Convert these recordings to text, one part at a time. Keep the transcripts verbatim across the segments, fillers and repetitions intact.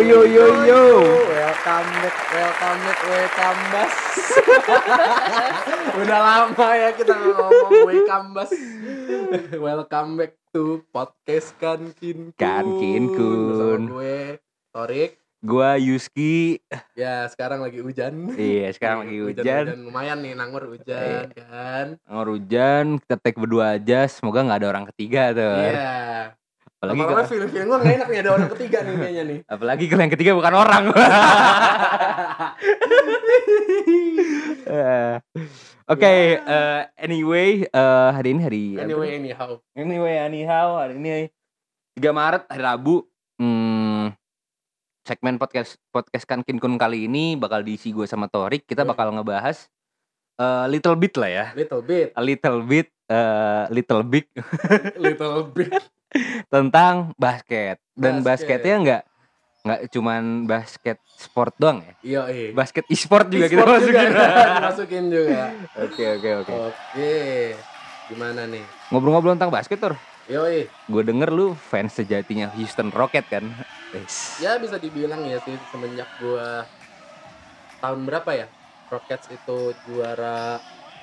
yo yo yo. Welcome back, welcome back, welcome back. Udah lama ya kita ngomong welcome back. Welcome back to podcast Kankin Kun. Kankin Kun. Bersama gue Torik. Gua Yuski. Ya sekarang lagi hujan. Iya sekarang lagi hujan. hujan, hujan. Lumayan nih nanggur hujan kan. Nanggur hujan, kita take berdua aja. Semoga nggak ada orang ketiga tuh. Iya. Apalagi kalau feeling-feeling gue nggak enak nih ada orang ketiga nih kayaknya nih. Apalagi kalau yang ketiga bukan orang. Oke, okay, uh, anyway, uh, hari ini hari Anyway apa? anyhow. Anyway anyhow, hari ini tiga Maret hari Rabu. Hmm, segmen podcast podcast Kankin Kun kali ini bakal diisi gue sama Torik. Kita bakal ngebahas uh, little bit lah ya. Little bit. A little bit, uh, little big. Little bit. Tentang basket. Dan basket. basketnya nggak nggak cuman basket sport doang ya. Iya, iya. Basket e-sport juga e-sport kita masukin. Juga, masukin juga. Oke oke oke. Oke. Gimana nih? Ngobrol-ngobrol tentang basket Tor. Yoi. Gue denger lu fans sejatinya Houston Rockets kan. Yes. Ya bisa dibilang ya sih semenjak gua tahun berapa ya? Rockets itu juara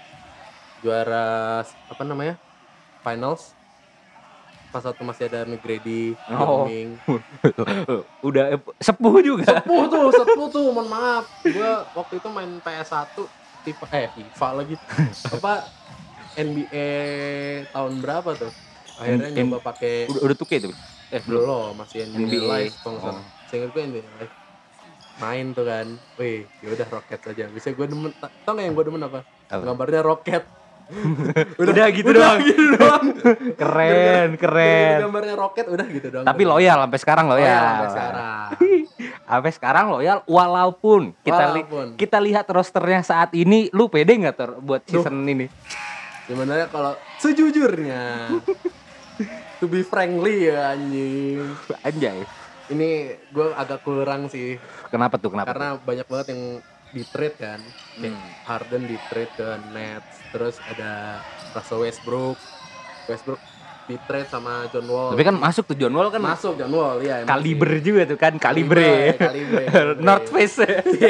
juara apa namanya? Finals. Pas waktu masih ada McGrady, Oh. Young. Udah sepuh juga. Sepuh tuh, sepuh tuh, mohon maaf. Gua waktu itu main P S satu tipe eh FIFA lagi. Apa N B A tahun berapa tuh? Akhirnya N- nyoba pakai Udah udah tuh tuh. Eh belum. belum, masih N B A, N B A. Live kalau nggak salah. Seingat gue N B A Live. Main tuh kan. Wih, ya udah Rockets aja. Bisa gue demen. Tau nggak yang gue demen apa? Apa? Gambarnya roket. Udah, udah gitu udah doang. gitu doang. Keren, keren. Gambarnya roket udah gitu doang. Tapi loyal sampai sekarang loyal. Loyal sampai sekarang. Sampai sekarang loyal walaupun kita li- Walaupun. kita lihat rosternya saat ini, lu pede nggak Tor buat season ini? Sebenarnya kalau sejujurnya to be frankly ya anjing. Anjay. Ini gue agak kurang sih. Kenapa tuh? Kenapa? Karena tuh? banyak banget yang di trade kan. Kayak Hmm. Harden di trade ke Nets. Terus ada Russell Westbrook. Westbrook di trade sama John Wall. Tapi kan masuk tuh John Wall kan masuk John Wall ya. emang kaliber sih. juga tuh kan kalibre. Kalibre. North Face.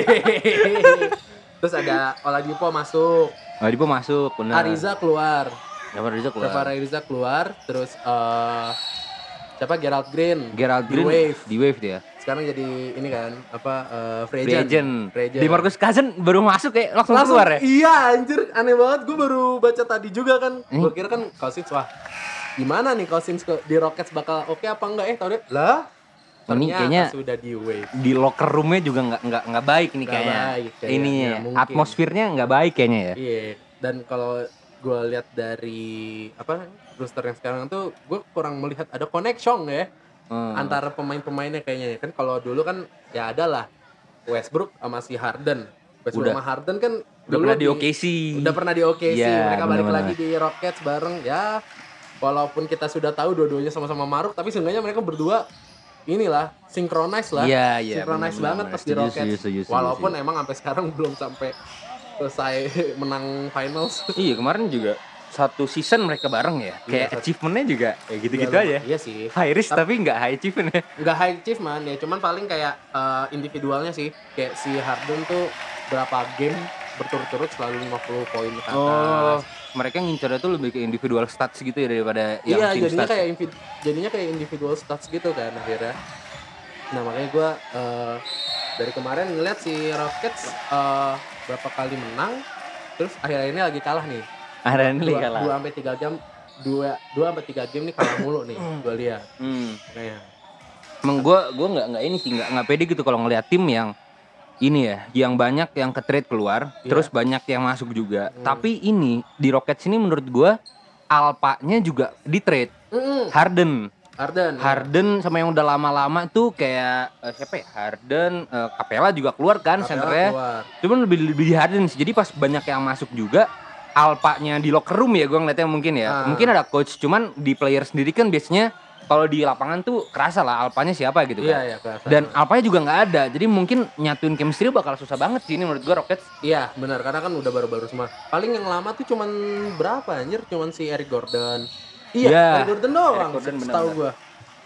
Terus ada Oladipo masuk. Oladipo masuk, benar. Ariza keluar. Trevor Ariza keluar. Trevor Ariza keluar. Terus eh siapa Gerald Green. Gerald Di Green Wave. di Wave dia. Sekarang jadi ini kan apa uh, free Free agent. agent. Free agent. Di Marcus Cousins baru masuk kayak langsung, Langsung keluar ya. iya anjir aneh banget. Gue baru baca tadi juga kan. Hmm. Gue kira kan Cousins wah gimana nih Cousins ke, di Rockets bakal oke apa enggak eh tau deh lah. Ini Ternyata kayaknya sudah di Wave. di locker roomnya juga nggak nggak nggak baik nih Nggak kayaknya. baik kayaknya, Ini ya, mungkin. atmosfernya nggak baik kayaknya ya. Iya, dan kalau gue lihat dari apa roster yang sekarang tuh gue kurang melihat ada connection ya Hmm. antara pemain-pemainnya kayaknya kan. Kalau dulu kan ya ada lah Westbrook sama si Harden. Westbrook Udah. sama Harden kan Udah dulu pernah di O K C. Udah pernah di O K C. Iya, Mereka balik bener-bener. lagi di Rockets bareng ya. Walaupun kita sudah tahu dua-duanya sama-sama maruk, tapi seenggaknya mereka berdua inilah synchronize lah. Iya, iya, Synchronize bener-bener. banget pas di Setuju, Rockets. setuju, setuju, setuju, Walaupun setuju. emang sampai sekarang belum sampai selesai menang finals. Iya kemarin juga satu season mereka bareng ya. Kayak satu- achievementnya juga kayak gitu-gitu Iya, aja. Iya sih. High risk tapi nggak high achievement ya. Nggak high achievement ya, cuman paling kayak eh, individualnya sih. Kayak si Harden tuh berapa game berturut-turut selalu lima puluh poin ke atas. Oh, mereka ngincarnya tuh lebih ke individual stats gitu ya daripada yang Iya, team jadinya stats. kayak invi- jadinya kayak individual stats gitu kan akhirnya. Nah, makanya gue eh, dari kemarin ngeliat si Rockets eh, berapa kali menang, terus akhir-akhir ini lagi kalah nih. Ada ini Dua, kalah. dua sampai tiga jam, dua dua sampai tiga game nih kalah mulu nih, gue lihat. Hmm. Kayak Emang gue gue nggak nggak ini sih nggak nggak pede gitu kalau ngeliat tim yang ini ya, yang banyak yang ke trade keluar, Iya. terus banyak yang masuk juga. Hmm. Tapi ini di Rockets ini menurut gue alpanya juga di trade. Mm-mm. Harden, Harden. Harden sama yang udah lama-lama tuh kayak eh, siapa ya? Harden, eh, Capella juga keluar kan Capella senternya. keluar. Cuman lebih lebih di Harden sih. Jadi pas banyak yang masuk juga alpanya di locker room ya gue ngeliatnya mungkin ya. Ah. Mungkin ada coach, cuman di player sendiri kan biasanya kalau di lapangan tuh kerasa lah alpanya siapa gitu kan. Iya, iya, kerasa. Dan alpanya juga nggak ada. Jadi mungkin nyatuin chemistry bakal susah banget sih ini menurut gue Rockets. Iya, benar karena kan udah baru-baru semua. Paling yang lama tuh cuman berapa anjir? Cuman si Eric Gordon. Iya, Iya, Eric Gordon doang. Eric Gordon setahu benar-benar. gua.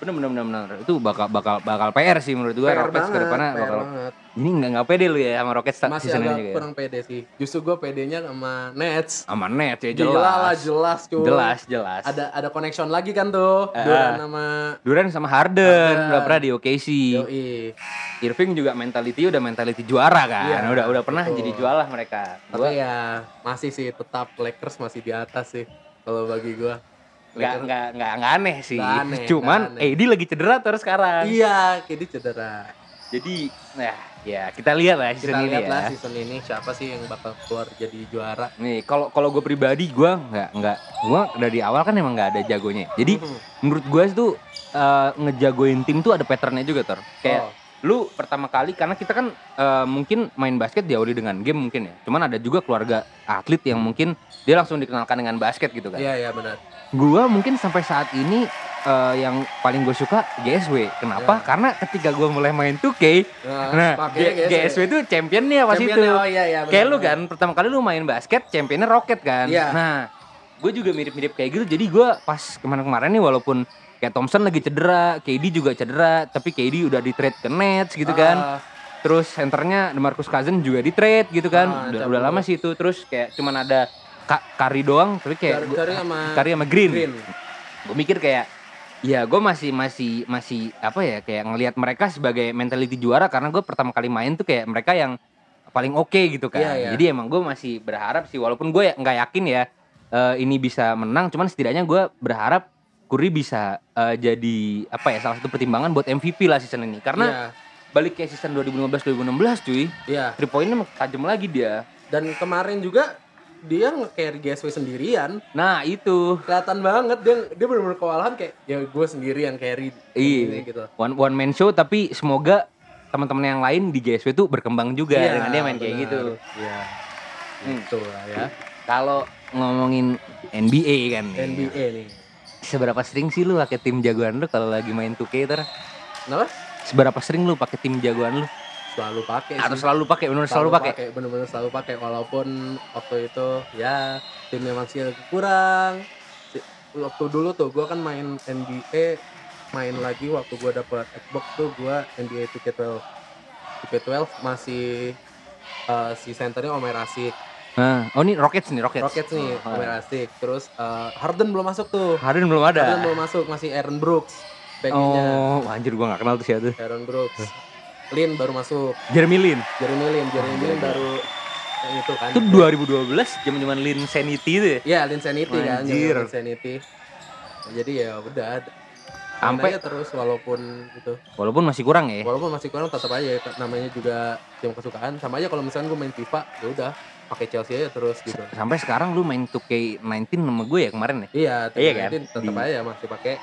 Bener bener bener bener. Itu bakal bakal bakal P R sih menurut gua. P R Rockets ke depannya banget, P R bakal. banget. Ini enggak enggak pede lu ya sama Rockets Masih season agak ini juga. kurang pede sih. Justru gue pedenya sama Nets. Sama Nets ya Gila jelas. lah, jelas cuy. Jelas jelas. Ada ada connection lagi kan tuh. Ah. Durant sama Durant sama Harden Harden. udah pernah di O K C. Yoi. Irving juga mentality udah mentality juara kan. Iya, udah udah pernah betul. jadi juara mereka. Tapi Gua ya masih sih tetap Lakers masih di atas sih kalau bagi gue. nggak nggak nggak nggak aneh sih. Nggak aneh, Cuman nggak aneh. A D lagi cedera terus sekarang. Iya, K D cedera. Jadi nah ya kita lihat lah Kita season ini lihat ya. lah season ini siapa sih yang bakal keluar jadi juara. Nih kalau kalau gue pribadi gue nggak nggak gue dari awal kan emang nggak ada jagonya. Jadi Mhm. menurut gue itu eh, ngejagoin tim tuh ada patternnya juga Tor. Kayak Oh. lu pertama kali karena kita kan eh, mungkin main basket diawali dengan game mungkin ya. Cuman ada juga keluarga atlet yang mungkin dia langsung dikenalkan dengan basket gitu kan. Iya, iya benar. Gua mungkin sampai saat ini eh, yang paling gue suka G S W. Kenapa? Ya. Karena ketika gue mulai main two K, nah pakai G- GSW itu championnya pas itu. Championnya, oh iya, iya, Kayak benar, lu kan pertama kali lu main basket championnya Rocket kan. Iya. Nah, gue juga mirip-mirip kayak gitu. Jadi gue pas kemarin-kemarin nih walaupun kayak Thompson lagi cedera, K D juga cedera, tapi K D udah di trade ke Nets gitu kan. Ah, Terus centernya DeMarcus Cousins juga di trade gitu kan. Ah, udah, cabut. udah lama sih itu. Terus kayak cuman ada Ka- Curry doang, tapi kayak Curry- gua- Curry sama Curry sama Green. Green. Gue mikir kayak ya gue masih masih masih apa ya kayak ngelihat mereka sebagai mentality juara karena gue pertama kali main tuh kayak mereka yang paling oke gitu kan. Iya, iya. Jadi emang gue masih berharap sih walaupun gue ya nggak yakin ya eh, ini bisa menang, cuman setidaknya gue berharap Curry bisa eh, jadi apa ya salah satu pertimbangan buat M V P lah season ini karena Iya, balik ke season dua ribu lima belas dua ribu enam belas cuy, iya. three pointnya tajam lagi dia. Dan kemarin juga dia nge-carry G S W sendirian. Nah itu Kelihatan banget dia dia benar-benar kewalahan kayak ya gue sendiri yang carry iya ini gitu. one one man show tapi semoga teman-teman yang lain di G S W tuh berkembang juga Iya, dengan dia main kayak benar. gitu. Iya. Hmm. Itu lah ya. Kalau ngomongin N B A kan nih, N B A nih. seberapa sering sih lu pakai tim jagoan lu kalau lagi main two K ter? Kenapa? Seberapa sering lu pakai tim jagoan lu? Selalu pakai Atau sih. selalu pakai? Benar selalu, pakai? Bener-bener selalu pakai walaupun waktu itu ya timnya masih agak kurang. Si- Waktu dulu tuh gue kan main N B A, main lagi waktu gue dapet Xbox tuh gue N B A two K twelve. two K twelve masih eh, si centernya Omer Asik. Nah, oh ini Rockets nih, Rockets. Rockets nih, Oh, Omer Asik. Terus eh, Harden belum masuk tuh. Harden belum ada. Harden belum masuk, masih Aaron Brooks. Backnya Oh, anjir gua gak kenal tuh siapa tuh. Aaron Brooks. Lin baru masuk. Jeremy Lin. Jeremy Lin, Jeremy Lin baru yang itu kan. Itu dua ribu dua belas zaman-zaman Lin Sanity tuh ya. Iya, Linsanity kan, Anjir. Linsanity. Nah, jadi ya udah Sampai- sampai terus walaupun gitu. Walaupun masih kurang ya. Walaupun masih kurang tetap aja namanya juga tim kesukaan. Sama aja kalau misalnya gue main FIFA, ya udah pakai Chelsea aja terus gitu. Sampai sekarang lu main two K nineteen sama gue ya kemarin ya. Iya, Iya kan? tetap Di- aja masih pakai.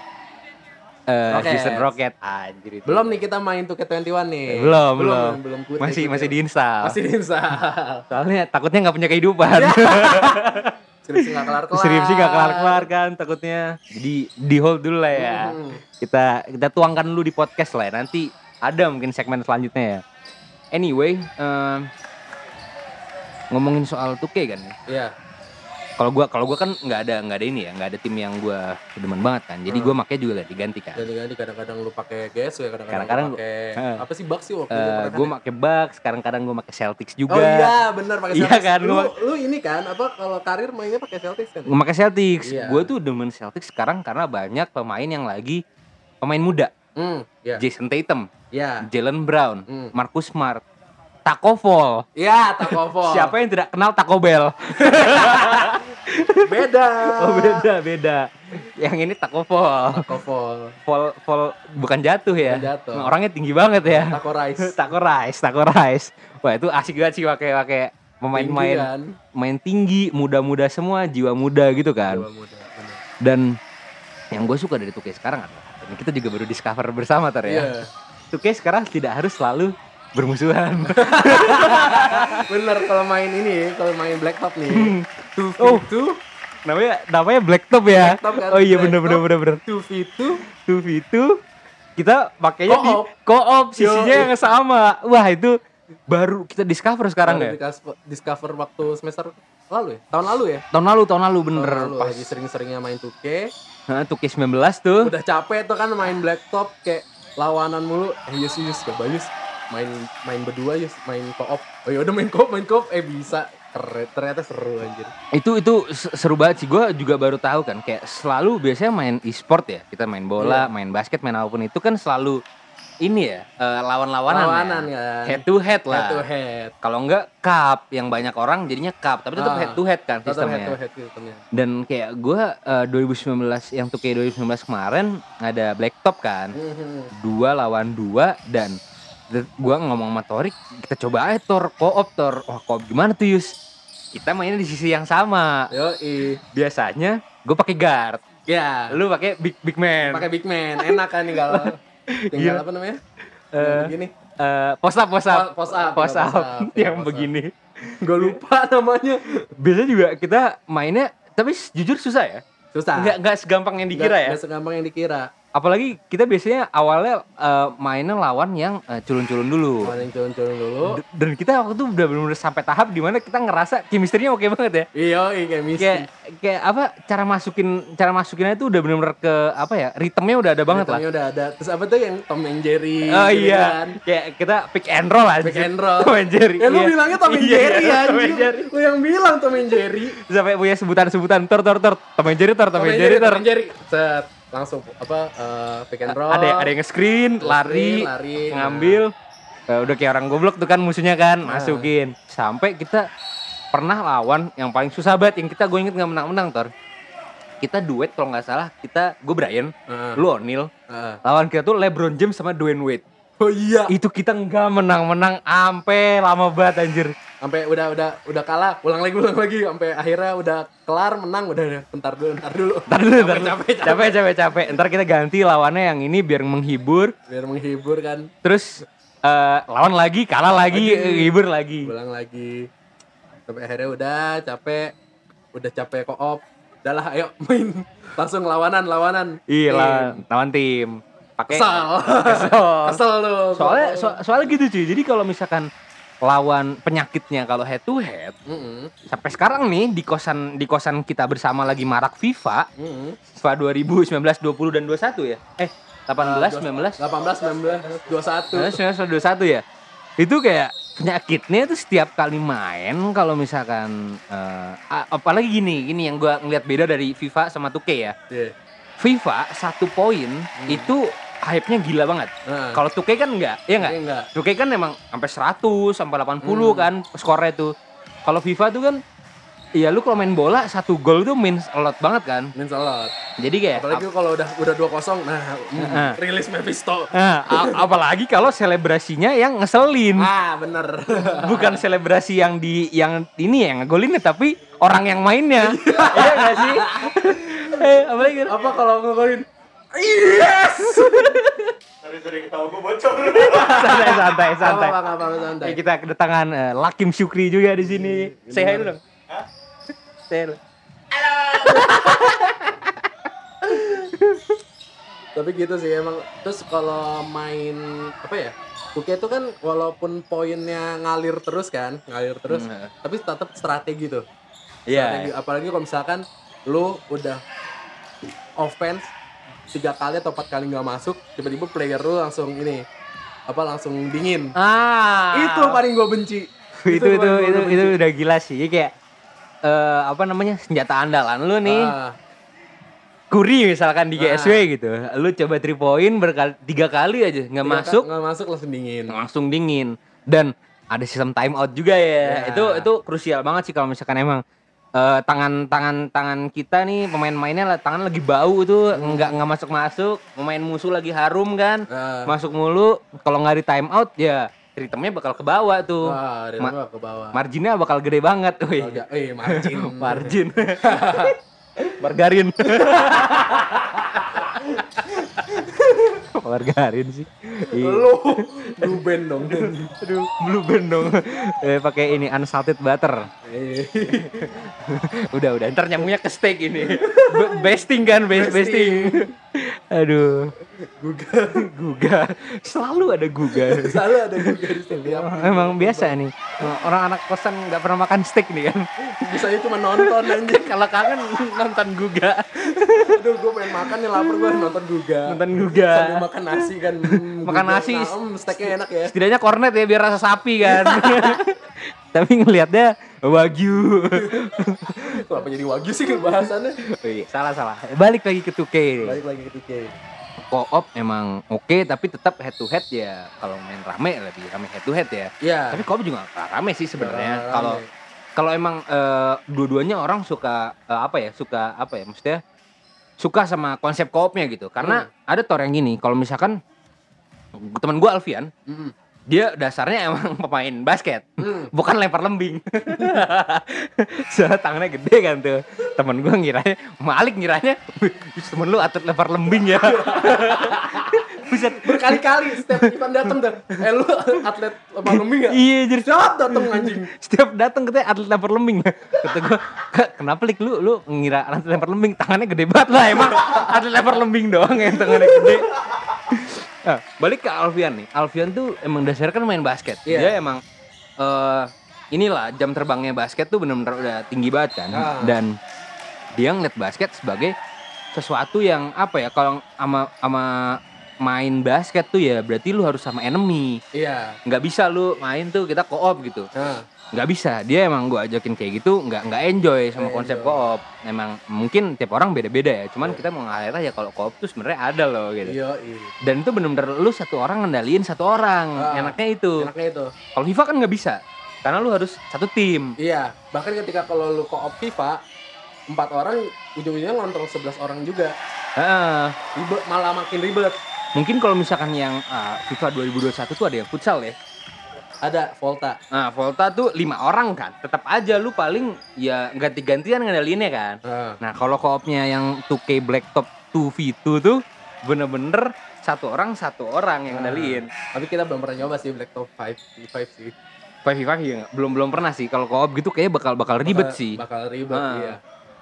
Eh, Rockets. season Rocket anjir itu. Belum nih kita main two K twenty-one nih. Belum, belum. belum, belum Masih masih diinstal. Masih diinstal. Soalnya takutnya nggak punya kehidupan. Skripsi nggak kelar-kelar. Skripsi nggak kelar-kelar kan takutnya. Jadi di hold dulu lah ya. Hmm. Kita kita tuangkan dulu di podcast lah ya. Nanti ada mungkin segmen selanjutnya ya. Anyway, em, ngomongin soal two K kan ya. Iya. Kalau gua kalau gua kan nggak ada nggak ada ini ya, nggak ada tim yang gua demen banget kan. Jadi Hmm. gua makanya juga ganti ganti kan. Ganti-ganti kadang-kadang lu pakai G S W, kadang-kadang Kadang-kadang lu pakai Heeh. apa sih Bucks sih waktu itu Eh, pernah gue kan? pakai Bucks, kadang-kadang gue pakai Celtics juga. Oh iya, benar pakai Iya Celtics. kan, Lu, gua- lu ini kan apa kalau karir mainnya pakai Celtics kan? Gue pakai Celtics. Iya. Gue tuh demen Celtics sekarang karena banyak pemain yang lagi pemain muda. Hmm, iya. Jason Tatum, Iya. Jalen Brown, Hmm. Marcus Smart, Taco Fall. Iya, Takovol. Siapa yang tidak kenal Taco Bell? Beda. Oh beda beda. Yang ini Taco Fall. Takovol. Fall fall bukan jatuh ya. Bukan jatuh. Orangnya tinggi banget ya. Taco Rice. Taco Rice, Taco Rice. Wah itu asik banget sih pakai pakai pemain-pemain Tinggi kan? main tinggi, muda-muda semua, jiwa muda gitu kan. Jiwa muda, bener. Dan yang gue suka dari two K sekarang adalah ini kita juga baru discover bersama Tar ya. Iya. two K sekarang tidak harus selalu bermusuhan. Bener kalau main ini, kalau main Blacktop nih. two v Oh. two, namanya namanya Blacktop ya. Blacktop kan? Oh iya bener bener Blacktop. bener bener. two v two, two v two kita pakainya di Co-op. co-op sisinya Yo. yang sama. Wah itu baru kita discover sekarang Baru ya. dikasih- discover waktu semester lalu ya? Tahun lalu ya? Tahun lalu tahun lalu bener Tahun lalu pas. lagi sering-seringnya main two K. Nah, two K sembilan belas tuh. Udah capek tuh kan main blacktop kayak lawanan mulu. Eh yes yes coba yes. Main main berdua yes, main co-op. Oh ya udah main co-op, main co-op eh bisa. Keren, ternyata seru anjir. Itu itu seru banget sih. Gue juga baru tahu kan kayak selalu biasanya main e-sport ya. Kita main bola, yeah. main basket, main apapun itu kan selalu ini ya, uh, lawan-lawanan Lawanan ya. kan. Head to head lah. Head to head. Kalau enggak cup yang banyak orang jadinya cup, tapi tetap ah, head to head kan sistemnya. Head to head sistemnya. Dan kayak gue uh, dua ribu sembilan belas yang two K dua ribu sembilan belas kemarin ada blacktop kan. Mm-hmm. Dua lawan dua dan gue ngomong sama Torik, kita coba aja Tor, co-op Tor. Wah co-op gimana tuh Yus? Kita mainnya di sisi yang sama. Yoi. Biasanya gue pakai guard. Ya. Lu pakai big big man. Pakai big man, enak kan nih kalau tinggal apa namanya? Uh, begini. Uh, post up, post up. Post up. Post up. up. Yang post begini. Gue lupa namanya. Biasanya juga kita mainnya, tapi jujur susah ya. Susah. Nggak, nggak segampang yang dikira nggak, ya. Nggak segampang yang dikira. Apalagi kita biasanya awalnya uh, mainnya lawan yang uh, culun-culun dulu. Lawan yang culun-culun dulu. D- dan kita waktu itu udah benar-benar sampai tahap di mana kita ngerasa chemistry-nya oke banget ya. Iya, iya chemistry. Kayak kayak apa cara masukin cara masukinnya itu udah benar-benar ke apa ya? Ritmenya udah ada banget lah. Ritmenya udah ada. Terus apa tuh yang Tom and Jerry? Oh iya. Kan? Kayak kita pick and roll aja. Pick and roll. Tom and Jerry. Ya lu iya. bilangnya Tom and iya, Jerry iya, anjir. Tom and Jerry. Lu yang bilang Tom and Jerry. Sampai punya sebutan-sebutan tor tor tor Tom and Jerry tor Tom and Jerry tor. Tom and Jerry. Set. Langsung apa uh, pick and roll. Ada ada yang nge-screen, lari, lari, ngambil. Nah. Uh, udah kayak orang goblok tuh kan musuhnya kan, nah. masukin. Sampai kita pernah lawan yang paling susah banget yang kita gue inget enggak menang-menang Tor. Kita duet kalau enggak salah, kita gue Brian, uh. lu O'Neal. Uh. Lawan kita tuh LeBron James sama Dwayne Wade. Oh iya. Itu kita enggak menang-menang ampe lama banget anjir. Sampai udah udah udah kalah, ulang lagi ulang lagi sampai akhirnya udah kelar menang udah udah bentar dulu bentar dulu. Bentar dulu, capek, capek, capek, capek, capek, capek. Ntar kita ganti lawannya yang ini biar menghibur. Biar menghibur kan. Terus uh, lawan lagi, kalah lagi, lagi, hibur lagi. Ulang lagi. Sampai akhirnya udah capek, udah capek co-op. Udahlah ayo main langsung lawanan lawanan. Iya lawan, lawan tim. Pakai kesel. Kesel. Kesel lu. Soalnya so, soalnya gitu cuy. Jadi kalau misalkan lawan penyakitnya kalau head to head, mm-hmm. sampai sekarang nih di kosan di kosan kita bersama lagi marak FIFA, mm-hmm. FIFA dua ribu sembilan belas, dua puluh dan dua puluh satu ya. Eh, delapan belas, sembilan belas, delapan belas, sembilan belas, dua puluh satu. sembilan belas, dua puluh satu ya. Itu kayak penyakitnya itu setiap kali main kalau misalkan uh, apalagi gini, gini yang gua ngeliat beda dari FIFA sama two K ya. Yeah. FIFA satu poin hmm. itu hype-nya gila banget. Nah. Kalau two K kan enggak, ya enggak? enggak. two K kan emang sampai seratus, sampai delapan puluh hmm. kan skornya tuh. Kalau FIFA tuh kan iya lu kalau main bola satu gol tuh means a lot banget kan? Means a lot. Jadi kayak apalagi ap- kalau udah udah dua kosong nah, nah. rilis Mephisto. Nah, a- apalagi kalau selebrasinya yang ngeselin. Ah, bener. Bukan selebrasi yang di yang ini ya ngegolinnya tapi orang yang mainnya. Iya enggak sih? Eh, apalagi apa kalau ngegolin? Yes. Sorry-sorry ketawa gue bocor. santai santai santai. Apa apa santai. Kita kedatangan uh, Lakim Syukri juga di sini. Say hi dulu dong. Hah? Say hi. Halo. Tapi gitu sih emang. Terus kalau main apa ya? Oke itu kan walaupun poinnya ngalir terus kan, ngalir terus, hmm. tapi tetap strategi tuh. Iya. Yeah. Apalagi kalau misalkan lu udah offense tiga kali atau empat kali nggak masuk, tiba-tiba player lu langsung ini apa langsung dingin. Ah, itu paling gue benci. itu itu itu, itu, itu udah gila sih. Kayak uh, apa namanya senjata andalan lu nih. Ah. Kuri misalkan di G S W ah. gitu, lu coba three point berkali tiga kali aja nggak masuk, nggak masuk langsung dingin. Langsung dingin. Dan ada sistem time out juga ya. Yeah. Itu itu krusial banget sih kalau misalkan emang Uh, tangan tangan tangan kita nih pemain-pemainnya lah tangan lagi bau tuh hmm. nggak nggak masuk masuk pemain musuh lagi harum kan uh. masuk mulu kalau nggak di time out ya ritmenya bakal ke bawah tuh uh, Ma- ke bawah. Marginnya bakal gede banget wih eh margin margin margarin margarin sih lu blue band dong aduh blue band dong eh, pakai ini unsalted butter udah udah ntar nyambungnya ke steak ini basting kan basting aduh Guga. Guga. Selalu ada Guga. Selalu ada Guga di setiap. Emang biasa nih. Orang anak kosan enggak pernah makan steak nih kan. Bisanya cuma nonton anjing. Kalau kangen nonton Guga. Aduh, gue pengen makan nih, lapar gue nonton Guga. Nonton Guga. Sambil makan nasi kan. Hmm, Makan Guga. nasi. Nah, um, steaknya enak ya. Setidaknya kornet ya biar rasa sapi kan. Tapi ngelihatnya wagyu. Kenapa jadi wagyu sih bahasannya? Oh iya, salah salah. Balik lagi ke two K. Balik lagi ke tiga. Co-op emang oke tapi tetap head to head ya. Kalau main rame lebih rame head to head ya. Iya. Tapi co-op juga gak rame sih sebenarnya. Rame. Kalau kalau emang eh, dua-duanya orang suka eh, apa ya? Suka apa ya? Maksudnya suka sama konsep co-opnya gitu. Karena ada tor yang gini, kalau misalkan teman gua Alfian, Mm. dia dasarnya emang pemain basket, Hmm. bukan lempar lembing. Soalnya tangannya gede kan tuh. Temen gue ngiranya, Malik ngiranya, "Wih, temen lu atlet lempar lembing ya." Buset. Berkali-kali setiap Ivan datang dah. Eh lu atlet lempar lembing ya? Iya, jadi Siap datang anjing. setiap datang katanya atlet lempar lembing. Kata gue, kenapa Lik lu lu ngira atlet lempar lembing, tangannya gede banget lah emang atlet lempar lembing doang yang tangannya gede. Nah, balik ke Alfian nih. Alfian tuh emang dasarnya kan main basket. Iya. Dia emang eh inilah jam terbangnya basket tuh benar-benar udah tinggi banget kan. Ah. Dan dia ngeliat basket sebagai sesuatu yang apa ya, kalau sama sama main basket tuh ya berarti lu harus sama enemy. Iya. Nggak bisa lu main tuh kita co-op gitu. Nah, Nggak bisa. Dia emang gua ajakin kayak gitu nggak nggak enjoy sama Nggak konsep enjoy. co-op. Emang mungkin tiap orang beda-beda ya. Cuman kita mau nge-highlight aja kalau co-op tuh sebenarnya ada loh gitu. iya, iya. Dan itu bener-bener lu satu orang ngendaliin satu orang. Ah. Enaknya itu. Enaknya itu. Kalau FIFA kan nggak bisa. Karena lu harus satu tim. Iya, bahkan ketika kalau lu co-op FIFA, empat orang ujung-ujungnya ngontrol sebelas orang juga. Heeh. Ribet, malah makin ribet. Mungkin kalau misalkan yang ah, FIFA dua ribu dua puluh satu tuh ada yang futsal ya. Ada Volta. Nah, Volta tuh lima orang kan. Tetap aja lu paling ya ganti-gantian ngendaliinnya kan. Nah, Nah, kalau co-opnya yang two K Blacktop two v two tuh bener-bener satu orang satu orang yang ngendaliin. tapi kita belum pernah nyoba sih Blacktop lima v lima sih. five v five ya nggak? belum belum pernah sih. Kalau co-op gitu kayaknya bakal bakal ribet Bakal- sih. Bakal ribet, Ah. iya.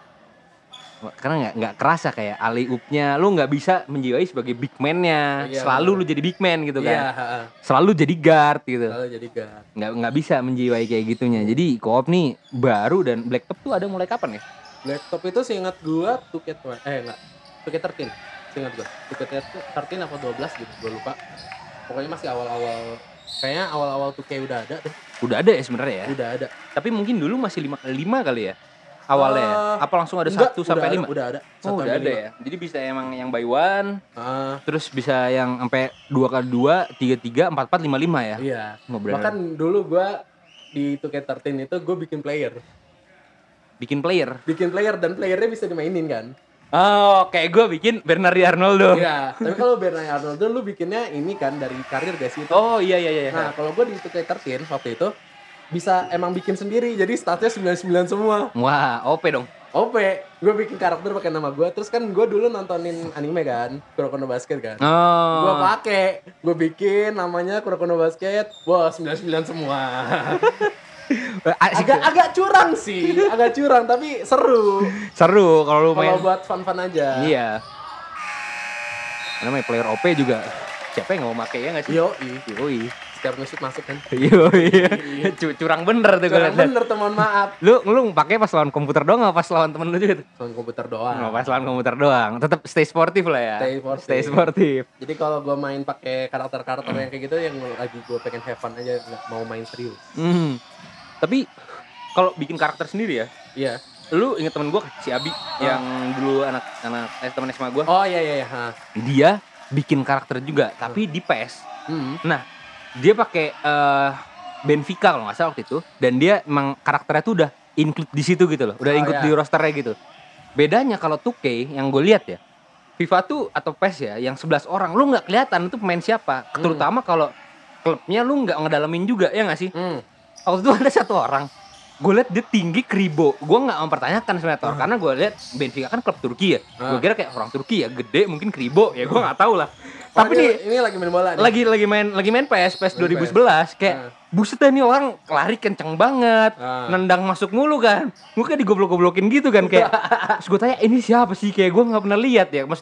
Karena nggak nggak kerasa kayak alley oop-nya lu nggak bisa menjiwai sebagai big man-nya. Iya, Selalu bener. lu jadi big man gitu kan. Iya, heeh. Selalu jadi guard gitu. Lalu jadi guard. Nggak nggak bisa menjiwai kayak gitunya. Jadi co-op nih baru dan Blacktop tuh ada mulai kapan ya? Blacktop itu seingat gua two K twelve, eh enggak, two K thirteen. Seingat gua. two K thirteen apa dua belas gitu, gua lupa. Pokoknya masih awal-awal, kayaknya awal-awal two K udah ada deh. Udah ada ya sebenarnya ya. Udah ada. Tapi mungkin dulu masih lima kali lima kali ya awalnya. ya? Eh, Apa langsung ada Enggak, satu udah sampai ada, lima? Udah ada. Oh, Satu udah sampai ada lima. ya. Jadi bisa emang yang by one, Ah, terus bisa yang sampai dua kali dua, tiga tiga, empat empat, lima lima ya. iya. Oh, bener. Bahkan dulu gua di two K thirteen itu gua bikin player. Bikin player. Bikin player dan playernya bisa dimainin kan. Oh, kayak gue bikin Bernardi Arnoldo. Iya, tapi kalau Bernardo Arnoldo lu bikinnya ini kan dari karir guys itu. Oh iya iya iya. Nah, kalau gua di two K thirteen waktu itu bisa emang bikin sendiri. Jadi statnya sembilan puluh sembilan semua. Wah, O P dong. O P, gue bikin karakter pakai nama gue. Terus kan gue dulu nontonin anime kan, Kuroko no Basket kan. Oh. Gue pakai, gue bikin namanya Kuroko no Basket. Wah, sembilan puluh sembilan semua. Asik agak tuh. agak curang sih, agak curang tapi seru. Seru kalau lu main. Kalau buat fun-fun aja. Iya. Karena main player O P juga. Siapa yang nggak mau pakai ya nggak sih? Yoi, Yoi. setiap nge-shoot masuk kan. Yoi. Cu- Curang bener tuh Curang kalau liat. bener teman maaf. Lu lu pakai pas lawan komputer doang apa pas lawan temen lu juga tuh? Soal komputer doang. Oh, pas lawan komputer doang. Tetap stay sportif lah ya. Stay sportif. Stay sportif. Jadi kalau gue main pakai karakter-karakter yang kayak gitu yang lagi gue pengen have fun aja, nggak mau main serius. Hmm. Tapi kalau bikin karakter sendiri ya, Iya. lu inget temen gue si Abi yang dulu anak anak eh, temen S M A gue, Oh iya iya iya. Ha. dia bikin karakter juga tapi di P E S. Hmm. Nah, dia pakai eh, Benfica kalau nggak salah waktu itu, dan dia emang karakternya tuh udah include di situ gitu loh, udah Oh, include iya. di rosternya gitu. Bedanya kalau two K yang gue lihat ya, FIFA tuh atau P E S ya, yang sebelas orang, lu nggak kelihatan itu pemain siapa. Terutama kalau klubnya lu nggak ngedalamin juga, ya nggak sih? Hmm. Waktu itu ada satu orang, gue liat dia tinggi kribo, gue nggak mempertanyakan sebenarnya Tor, karena gue liat Benfica kan klub Turki ya, gue Ah. kira kayak orang Turki ya, gede mungkin kribo ya, gue nggak tahu lah. Oh, Tapi ini, nih ini lagi main bola nih. lagi lagi main lagi main P E S P E S dua ribu sebelas kayak buset dah nih orang lari kenceng banget, Ah. nendang masuk mulu kan, gue kayak digoblok-goblokin gitu kan kayak, terus gue tanya ini siapa sih, kayak gue nggak pernah lihat ya, maksudnya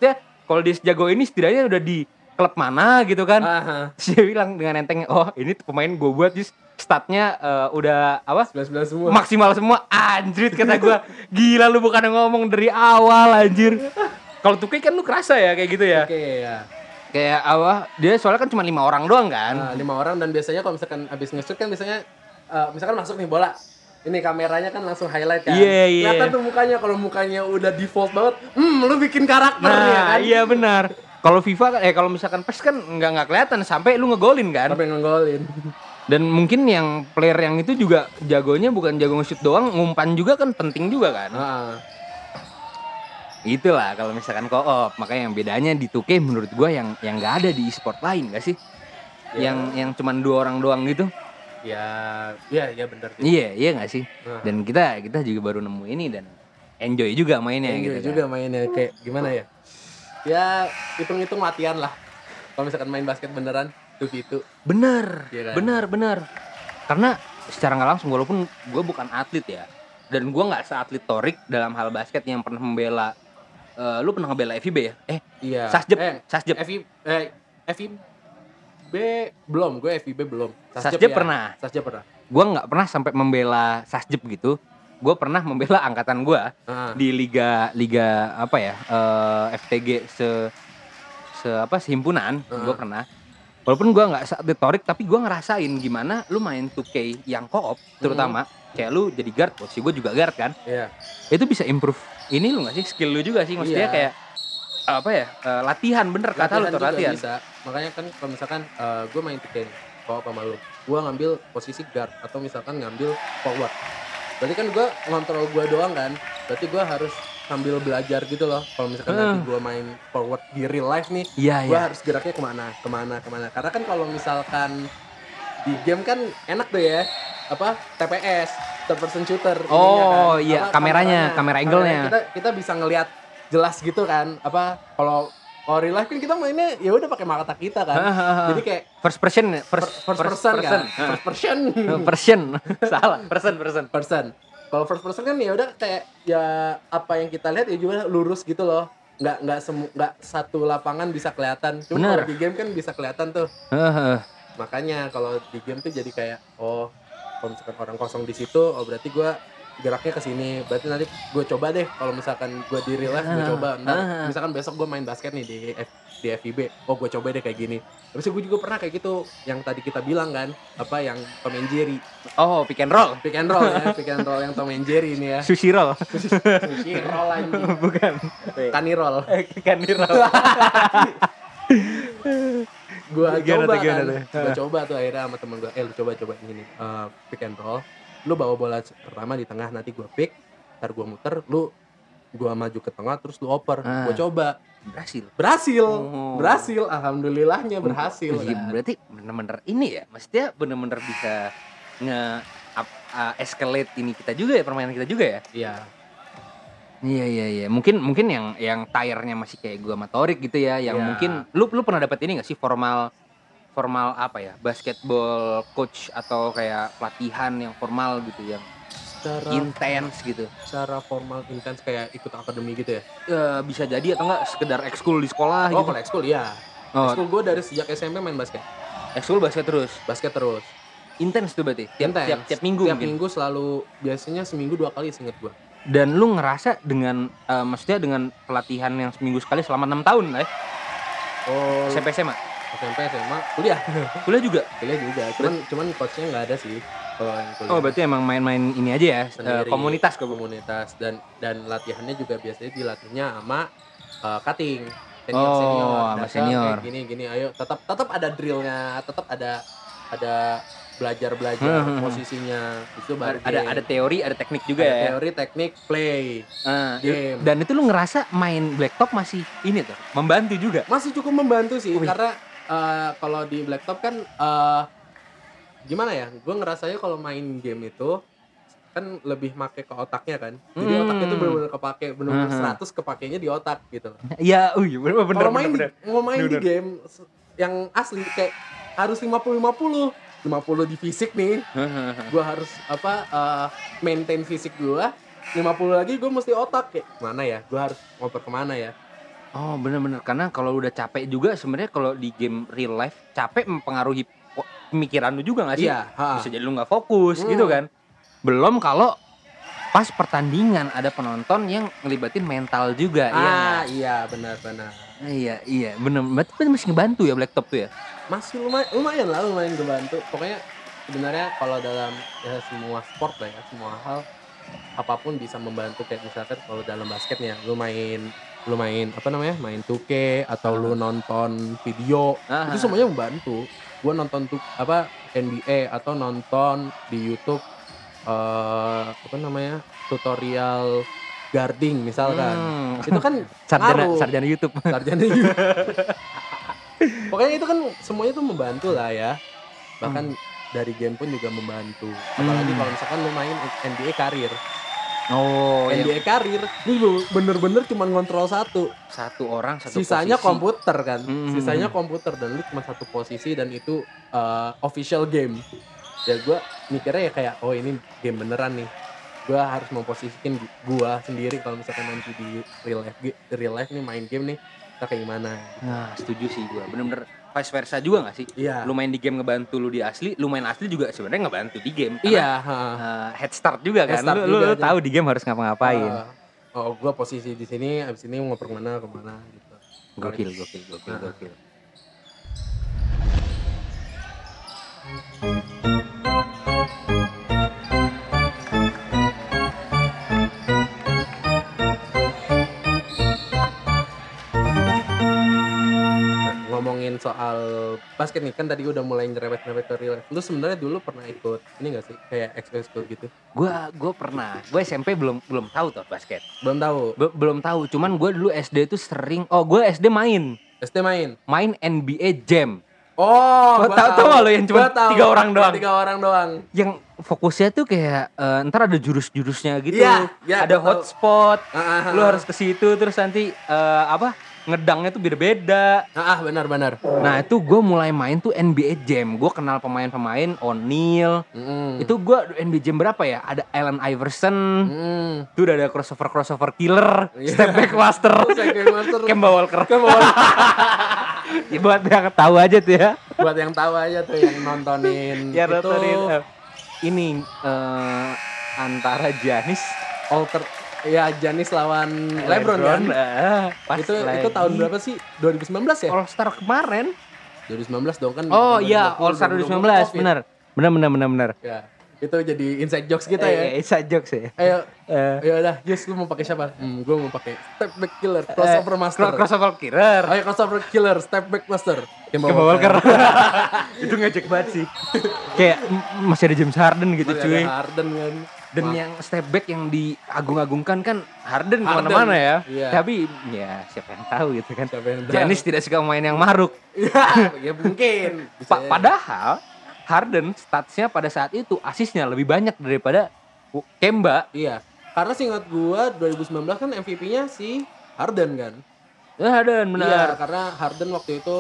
kalau dia sejago ini setidaknya udah di klub mana gitu kan. Aha. Terus dia bilang dengan entengnya, oh ini pemain gue buat just statnya uh, udah apa sembilan sembilan semua. maksimal semua. Anjrit kata gue, gila lu bukan ngomong dari awal anjir. Kalau tuh kan lu kerasa ya kayak gitu ya. Oke okay, ya. Kayak apa? Dia soalnya kan cuma lima orang doang kan. Nah, lima orang dan biasanya kalau misalkan abis nge-shoot kan biasanya uh, misalkan masuk nih bola. Ini kameranya kan langsung highlight kan. Iya, yeah, iya. Yeah. Kelihatan tuh mukanya, kalau mukanya udah default banget, hmm lu bikin karakter nah, ya kan. Iya benar. Kalau FIFA kan eh kalau misalkan PES kan nggak nggak kelihatan sampai lu ngegolin kan. Sampai ngegolin. Dan mungkin yang player yang itu juga jagonya bukan jago nge-shoot doang, ngumpan juga kan penting juga kan. Heeh. Itulah kalau misalkan co-op, makanya yang bedanya di two K menurut gua yang yang nggak ada di e-sport lain nggak sih? Ya. Yang yang cuman dua orang doang gitu. Ya, ya, ya benar. Iya, iya nggak sih? Nah. Dan kita kita juga baru nemu ini dan enjoy juga mainnya Enjoy gitu. juga kan. mainnya kayak gimana ya? Ya hitung-hitung latihan lah. Kalau misalkan main basket beneran tuh gitu. Bener, Iya kan? bener, bener. Karena secara nggak langsung walaupun gue bukan atlet ya, dan gue nggak seatlet Torik dalam hal basket yang pernah membela. Uh, lu pernah ngebela F I B ya? Eh, Iya. Sasjep, Eh, Sasjep. F I eh F I B belum, gue F I B belum. Sasjep ya. pernah. Sasjep pernah. Gue nggak pernah sampai membela Sasjep gitu. Gue pernah membela angkatan gue Ah. di liga liga apa ya uh, F T G se se apa sehimpunan. Ah. Gue pernah. Walaupun gue nggak seatlet Torik, tapi gue ngerasain gimana lu main two K yang co-op terutama. Hmm. Kayak lu jadi guard, posisi gue juga guard kan. Iya. Itu bisa improve ini lu nggak sih skill lu juga sih maksudnya Iya. kayak apa ya uh, latihan bener kata lu tuh juga latihan. bisa. Makanya kan kalau misalkan uh, gue main two K kalau sama lu, gue ngambil posisi guard atau misalkan ngambil forward. Berarti kan gue ngontrol gue doang kan. Berarti gue harus sambil belajar gitu loh. Kalau misalkan Uh. nanti gue main forward di real life nih, Iya, gue iya. harus geraknya kemana, kemana, kemana. Karena kan kalau misalkan di game kan enak tuh ya, apa T P S, third person shooter. Oh, ininya kan. iya, Apa, kameranya, kamera angle-nya. Kita kita bisa ngelihat jelas gitu kan. Apa kalau kalau real life kan kita mainnya ya udah pakai mata kita kan. Jadi kayak First person, first, first, first person, kan. First person. person, salah, person, person. person. Kalau first person kan ya udah kayak ya apa yang kita lihat ya juga lurus gitu loh. Nggak nggak semu nggak satu lapangan bisa kelihatan. Cuma Bener. kalau di game kan bisa kelihatan tuh. Heeh. Makanya kalau di game tuh jadi kayak oh kalau misalkan orang kosong di situ, oh berarti gue geraknya ke sini. Berarti nanti gue coba deh kalau misalkan gue di real life gue Ah, coba. Ntar ah. misalkan besok gue main basket nih di F, di F I B. Oh gue coba deh kayak gini. Terus gue juga pernah kayak gitu yang tadi kita bilang kan, apa yang Tom and Jerry. Oh, pick and roll. Pick and roll ya, pick and roll yang Tom and Jerry ini ya. Sushi roll. Sushi roll anjing. Bukan. Kani roll. Kani roll. Gua Gimana coba tuh, gimana kan. tuh? Gua coba tuh akhirnya sama temen gua. Eh lu coba coba ini nih. Uh, pick and roll. Lu bawa bola pertama di tengah, nanti gua pick, ntar gua muter, lu gua maju ke tengah terus lu oper. Ah. Gua coba. Berhasil. Berhasil. Oh. Berhasil. Alhamdulillahnya berhasil. Iya, kan. berarti bener-bener ini ya, maksudnya bener-bener bisa nge up, uh, escalate ini kita juga ya, permainan kita juga ya. Iya. Iya iya iya. Mungkin mungkin yang yang tire-nya masih kayak gua sama Torik gitu ya, yang Iya. mungkin lu lu pernah dapat ini enggak sih formal formal apa ya? Basketball coach atau kayak pelatihan yang formal gitu yang Secara intens gitu. secara formal intens kayak ikut akademi gitu ya. Ya, bisa jadi atau enggak sekedar ekskul di sekolah Oh, gitu. kalau ekskul iya. Oh, Ekskul gua dari sejak S M P main basket. ekskul basket terus. Basket terus. Intens tuh berarti. Tiap Intens. tiap, tiap minggu Tiap mungkin. minggu selalu biasanya seminggu dua kali seinget gua. Dan lu ngerasa dengan eh, maksudnya dengan pelatihan yang seminggu sekali selama enam tahun lah ya. Oh, S M P S M A. S M P, S M A, kuliah. Kuliah juga. Kuliah juga. Cuman cuman coachnya nggak ada sih kalau yang kuliah. Oh, berarti emang main-main ini aja ya, eh, Sendiri. komunitas kok. komunitas dan dan latihannya juga biasanya dilatihnya sama uh, cutting senior Oh, senior sama Datang senior. kayak gini gini ayo tetap tetap ada drillnya, tetap ada ada belajar belajar Hmm, hmm, hmm. posisinya itu baru Ada game. ada teori, ada teknik juga Ada ya. teori, teknik, play. Ah, game. Dan itu lu ngerasa main blacktop masih ini tuh, membantu juga. Masih cukup membantu sih Wih. karena uh, kalau di blacktop kan uh, gimana ya? Gue ngerasanya kalau main game itu kan lebih make ke otaknya kan. Jadi Hmm. otaknya tuh benar-benar kepake, benar-benar Hmm. seratus kepakainya di otak gitu. Iya, uh, bener bener Kalau main bener. di, mau main di Bener. game s- yang asli kayak harus lima puluh lima puluh. lima puluh di fisik nih. Gue harus apa uh, maintain fisik gue. lima puluh lagi gue mesti otak kayak mana ya? Gue harus ngoper kemana ya? Oh bener-bener, karena kalau udah capek juga sebenarnya kalau di game real life capek mempengaruhi po- pemikiran lu juga gak sih? Iya, ha. Bisa jadi lu gak fokus Hmm. gitu kan. Belum kalau pas pertandingan ada penonton yang ngelibatin mental juga. Iya Ah, nggak? iya benar-benar. Iya iya bener. Berarti masih ngebantu ya Blacktop tuh ya? Masih lumayan, lumayan lah, lumayan ngebantu. Pokoknya sebenarnya kalau dalam ya semua sport lah ya, semua hal apapun bisa membantu. Kayak misalkan kalau dalam basketnya lu main lu main apa namanya main two K atau lu nonton video Ah. itu semuanya membantu. Gua nonton tuh apa N B A atau nonton di YouTube eh apa namanya tutorial guarding misalkan, Hmm. itu kan Sarjana ngaruh. sarjana YouTube. Sarjana YouTube. Pokoknya itu kan semuanya tuh membantu lah ya. Bahkan dari game pun juga membantu. Apalagi Hmm. kalau misalkan lu main N B A karir. Oh N B A iya. karir, lu bener-bener cuma ngontrol satu. Satu orang satu Sisanya posisi. komputer kan. Hmm. Sisanya komputer dan lu cuma satu posisi dan itu uh, official game. Ya gue mikirnya ya kayak oh ini game beneran nih. Gue harus memposisikan gue sendiri kalau misalkan nanti di real life real life nih main game nih kita kayak gimana. Nah setuju sih gue. Bener-bener vice versa juga gak sih? Iya. Lu main di game ngebantu lu di asli, lu main asli juga sebenarnya ngebantu di game. Karena, Iya, ha. uh, head start juga kan. Head start lu, lu, juga lu aja. tahu di game harus ngapa-ngapain. Uh, oh, gue posisi di sini, abis ini mau kemana kemana gitu. Gokil, gokil, gokil, Nah. gokil. Nah, ngomongin soal basket nih kan tadi udah mulai nyerempet-nyerempet ke real life. Lu sebenarnya dulu pernah ikut ini gak sih kayak ekskul gitu? Gua gua pernah. Gue S M P belum belum tahu tuh basket. Belum tahu. Be- belum tahu. Cuman gue dulu S D tuh sering. Oh gue S D main S D main. main N B A Jam. Oh, Lo gua tahu- tahu nggak lo yang cuma Gua tahu. tiga orang doang? Tiga orang doang. Yang fokusnya tuh kayak eh, ntar ada jurus-jurusnya gitu. Iya, iya, ada gua tahu. hotspot. Ah, ah, ah, Lu ah. harus ke situ terus nanti eh, apa? Ngedangnya tuh beda-beda. Ah, ah, benar-benar. Nah, itu gue mulai main tuh N B A Jam. Gue kenal pemain-pemain O'Neal. Mm. Itu gue N B A Jam berapa ya? Ada Allen Iverson. Mm. Itu udah ada crossover crossover killer, Iya. step back master, Step back master. Kemba Walker. Kemba Walker. Ya, buat yang tahu aja tuh ya. Buat yang tahu aja tuh yang nontonin Ya itu nontonin, eh, ini eh, antara Giannis alter ya Giannis lawan LeBron, kan? eh, pas Itu lagi itu tahun berapa sih? dua ribu sembilan belas ya? All Star kemarin. dua ribu sembilan belas dong kan. Oh iya, dua ribu dua puluh, All Star dua ribu sembilan belas, COVID. benar. Benar benar benar benar. Ya. Itu jadi inside jokes kita Eh, ya. eh, inside jokes ya. Ayo, Eh, ya udah, Jess lu mau pakai siapa? Hmm, gue mau pakai step back killer, crossover eh, master. cro- crossover killer. Ayo crossover killer, step back master. Kemba Kemba Walker. Itu ngejek banget sih. Kayak m- masih ada James Harden gitu Masih cuy. ada Harden kan. Dan Ma- yang step back yang diagung-agungkan kan Harden Harden, kemana-mana ya. iya. Tapi ya siapa yang tahu gitu kan. Siapa yang tahu? Giannis tidak suka main yang maruk. ya, ya mungkin. Bisa Pa- ya. padahal Harden statsnya pada saat itu asisnya lebih banyak daripada Kemba. Iya. Karena seingat gua dua ribu sembilan belas kan M V P-nya si Harden kan. Ya Harden Iya, benar. karena Harden waktu itu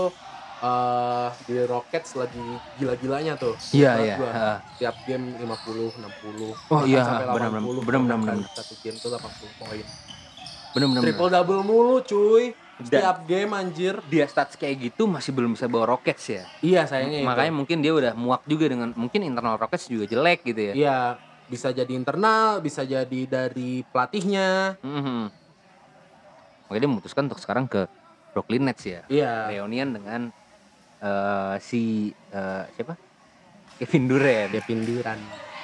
eh di Rockets lagi gila-gilanya tuh. Iya, Ingat iya. gua. Ha. Tiap game lima puluh, enam puluh. Oh, bahkan iya, sampai benar, delapan puluh, benar, benar, bahkan benar. Satu game tuh delapan puluh poin. Benar-benar. Triple double mulu cuy. Dan- Setiap game anjir. Dia stats kayak gitu masih belum bisa bawa Rockets ya. Iya, sayangnya itu. Makanya mungkin dia udah muak juga dengan mungkin internal Rockets juga jelek gitu ya. Iya, bisa jadi internal, bisa jadi dari pelatihnya. Mhm. Makanya dia memutuskan untuk sekarang ke Brooklyn Nets ya. Iya. Reunian dengan eh, si eh, siapa? Kevin Durant. Kevin Durant.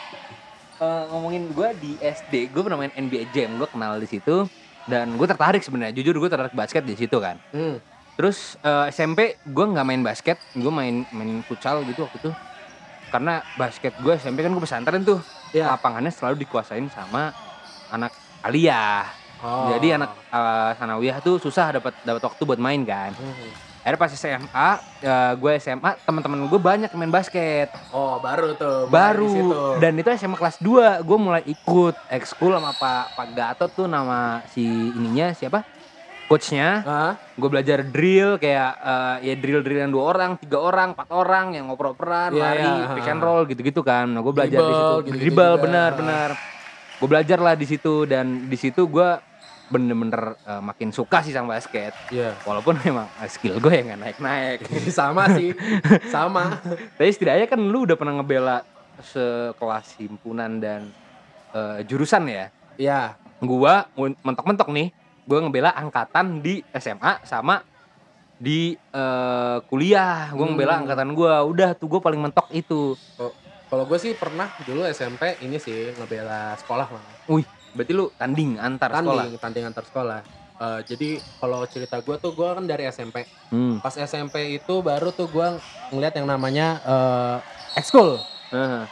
Eh, ngomongin gue di S D, gue pernah main N B A Jam, gue kenal di situ dan gue tertarik sebenarnya. Jujur gue tertarik basket di situ kan. Hmm. Terus eh, S M P gue nggak main basket, gue main main futsal gitu waktu itu. Karena basket gue S M P kan gue pesantren tuh, Iya. lapangannya selalu dikuasain sama anak aliyah. Oh. Jadi anak eh, sanawiyah tuh susah dapat dapat waktu buat main kan. Hmm. Akhirnya pas S M A, eh, gue S M A teman-teman gue banyak yang main basket. Oh, baru tuh. mulai di Baru situ. dan itu S M A kelas dua gue mulai ikut ekskul sama Pak Pak Gatot tuh nama si ininya siapa? Coachnya. Hah? Gue belajar drill kayak eh, ya drill-drillan dua orang, tiga orang, empat orang yang ngoper-operan, Iya, lari, iya, pick ha. and roll gitu-gitu kan. Nah, gue belajar di Dribble, situ. gitu-gitu Dribble juga. benar-benar. Gue belajar lah di situ dan di situ gue bener-bener uh, makin suka sih sama basket. Iya. Walaupun memang uh, skill gue yang nggak naik-naik. Sama sih, sama. Tapi setidaknya kan lu udah pernah ngebela sekelas himpunan dan uh, jurusan ya. Iya. Gua mentok-mentok nih, gua ngebela angkatan di S M A sama di uh, kuliah. Gua ngebela Hmm. angkatan gua. Udah tuh gua paling mentok itu. Oh, kalau gue sih pernah dulu S M P ini sih ngebela sekolah mah. Wih, berarti lu tanding antar sekolah. Tanding, tanding antar sekolah. Uh, jadi kalau cerita gue tuh gue kan dari S M P. Hmm. Pas S M P itu baru tuh gue ngeliat yang namanya uh, ekskul. Uh.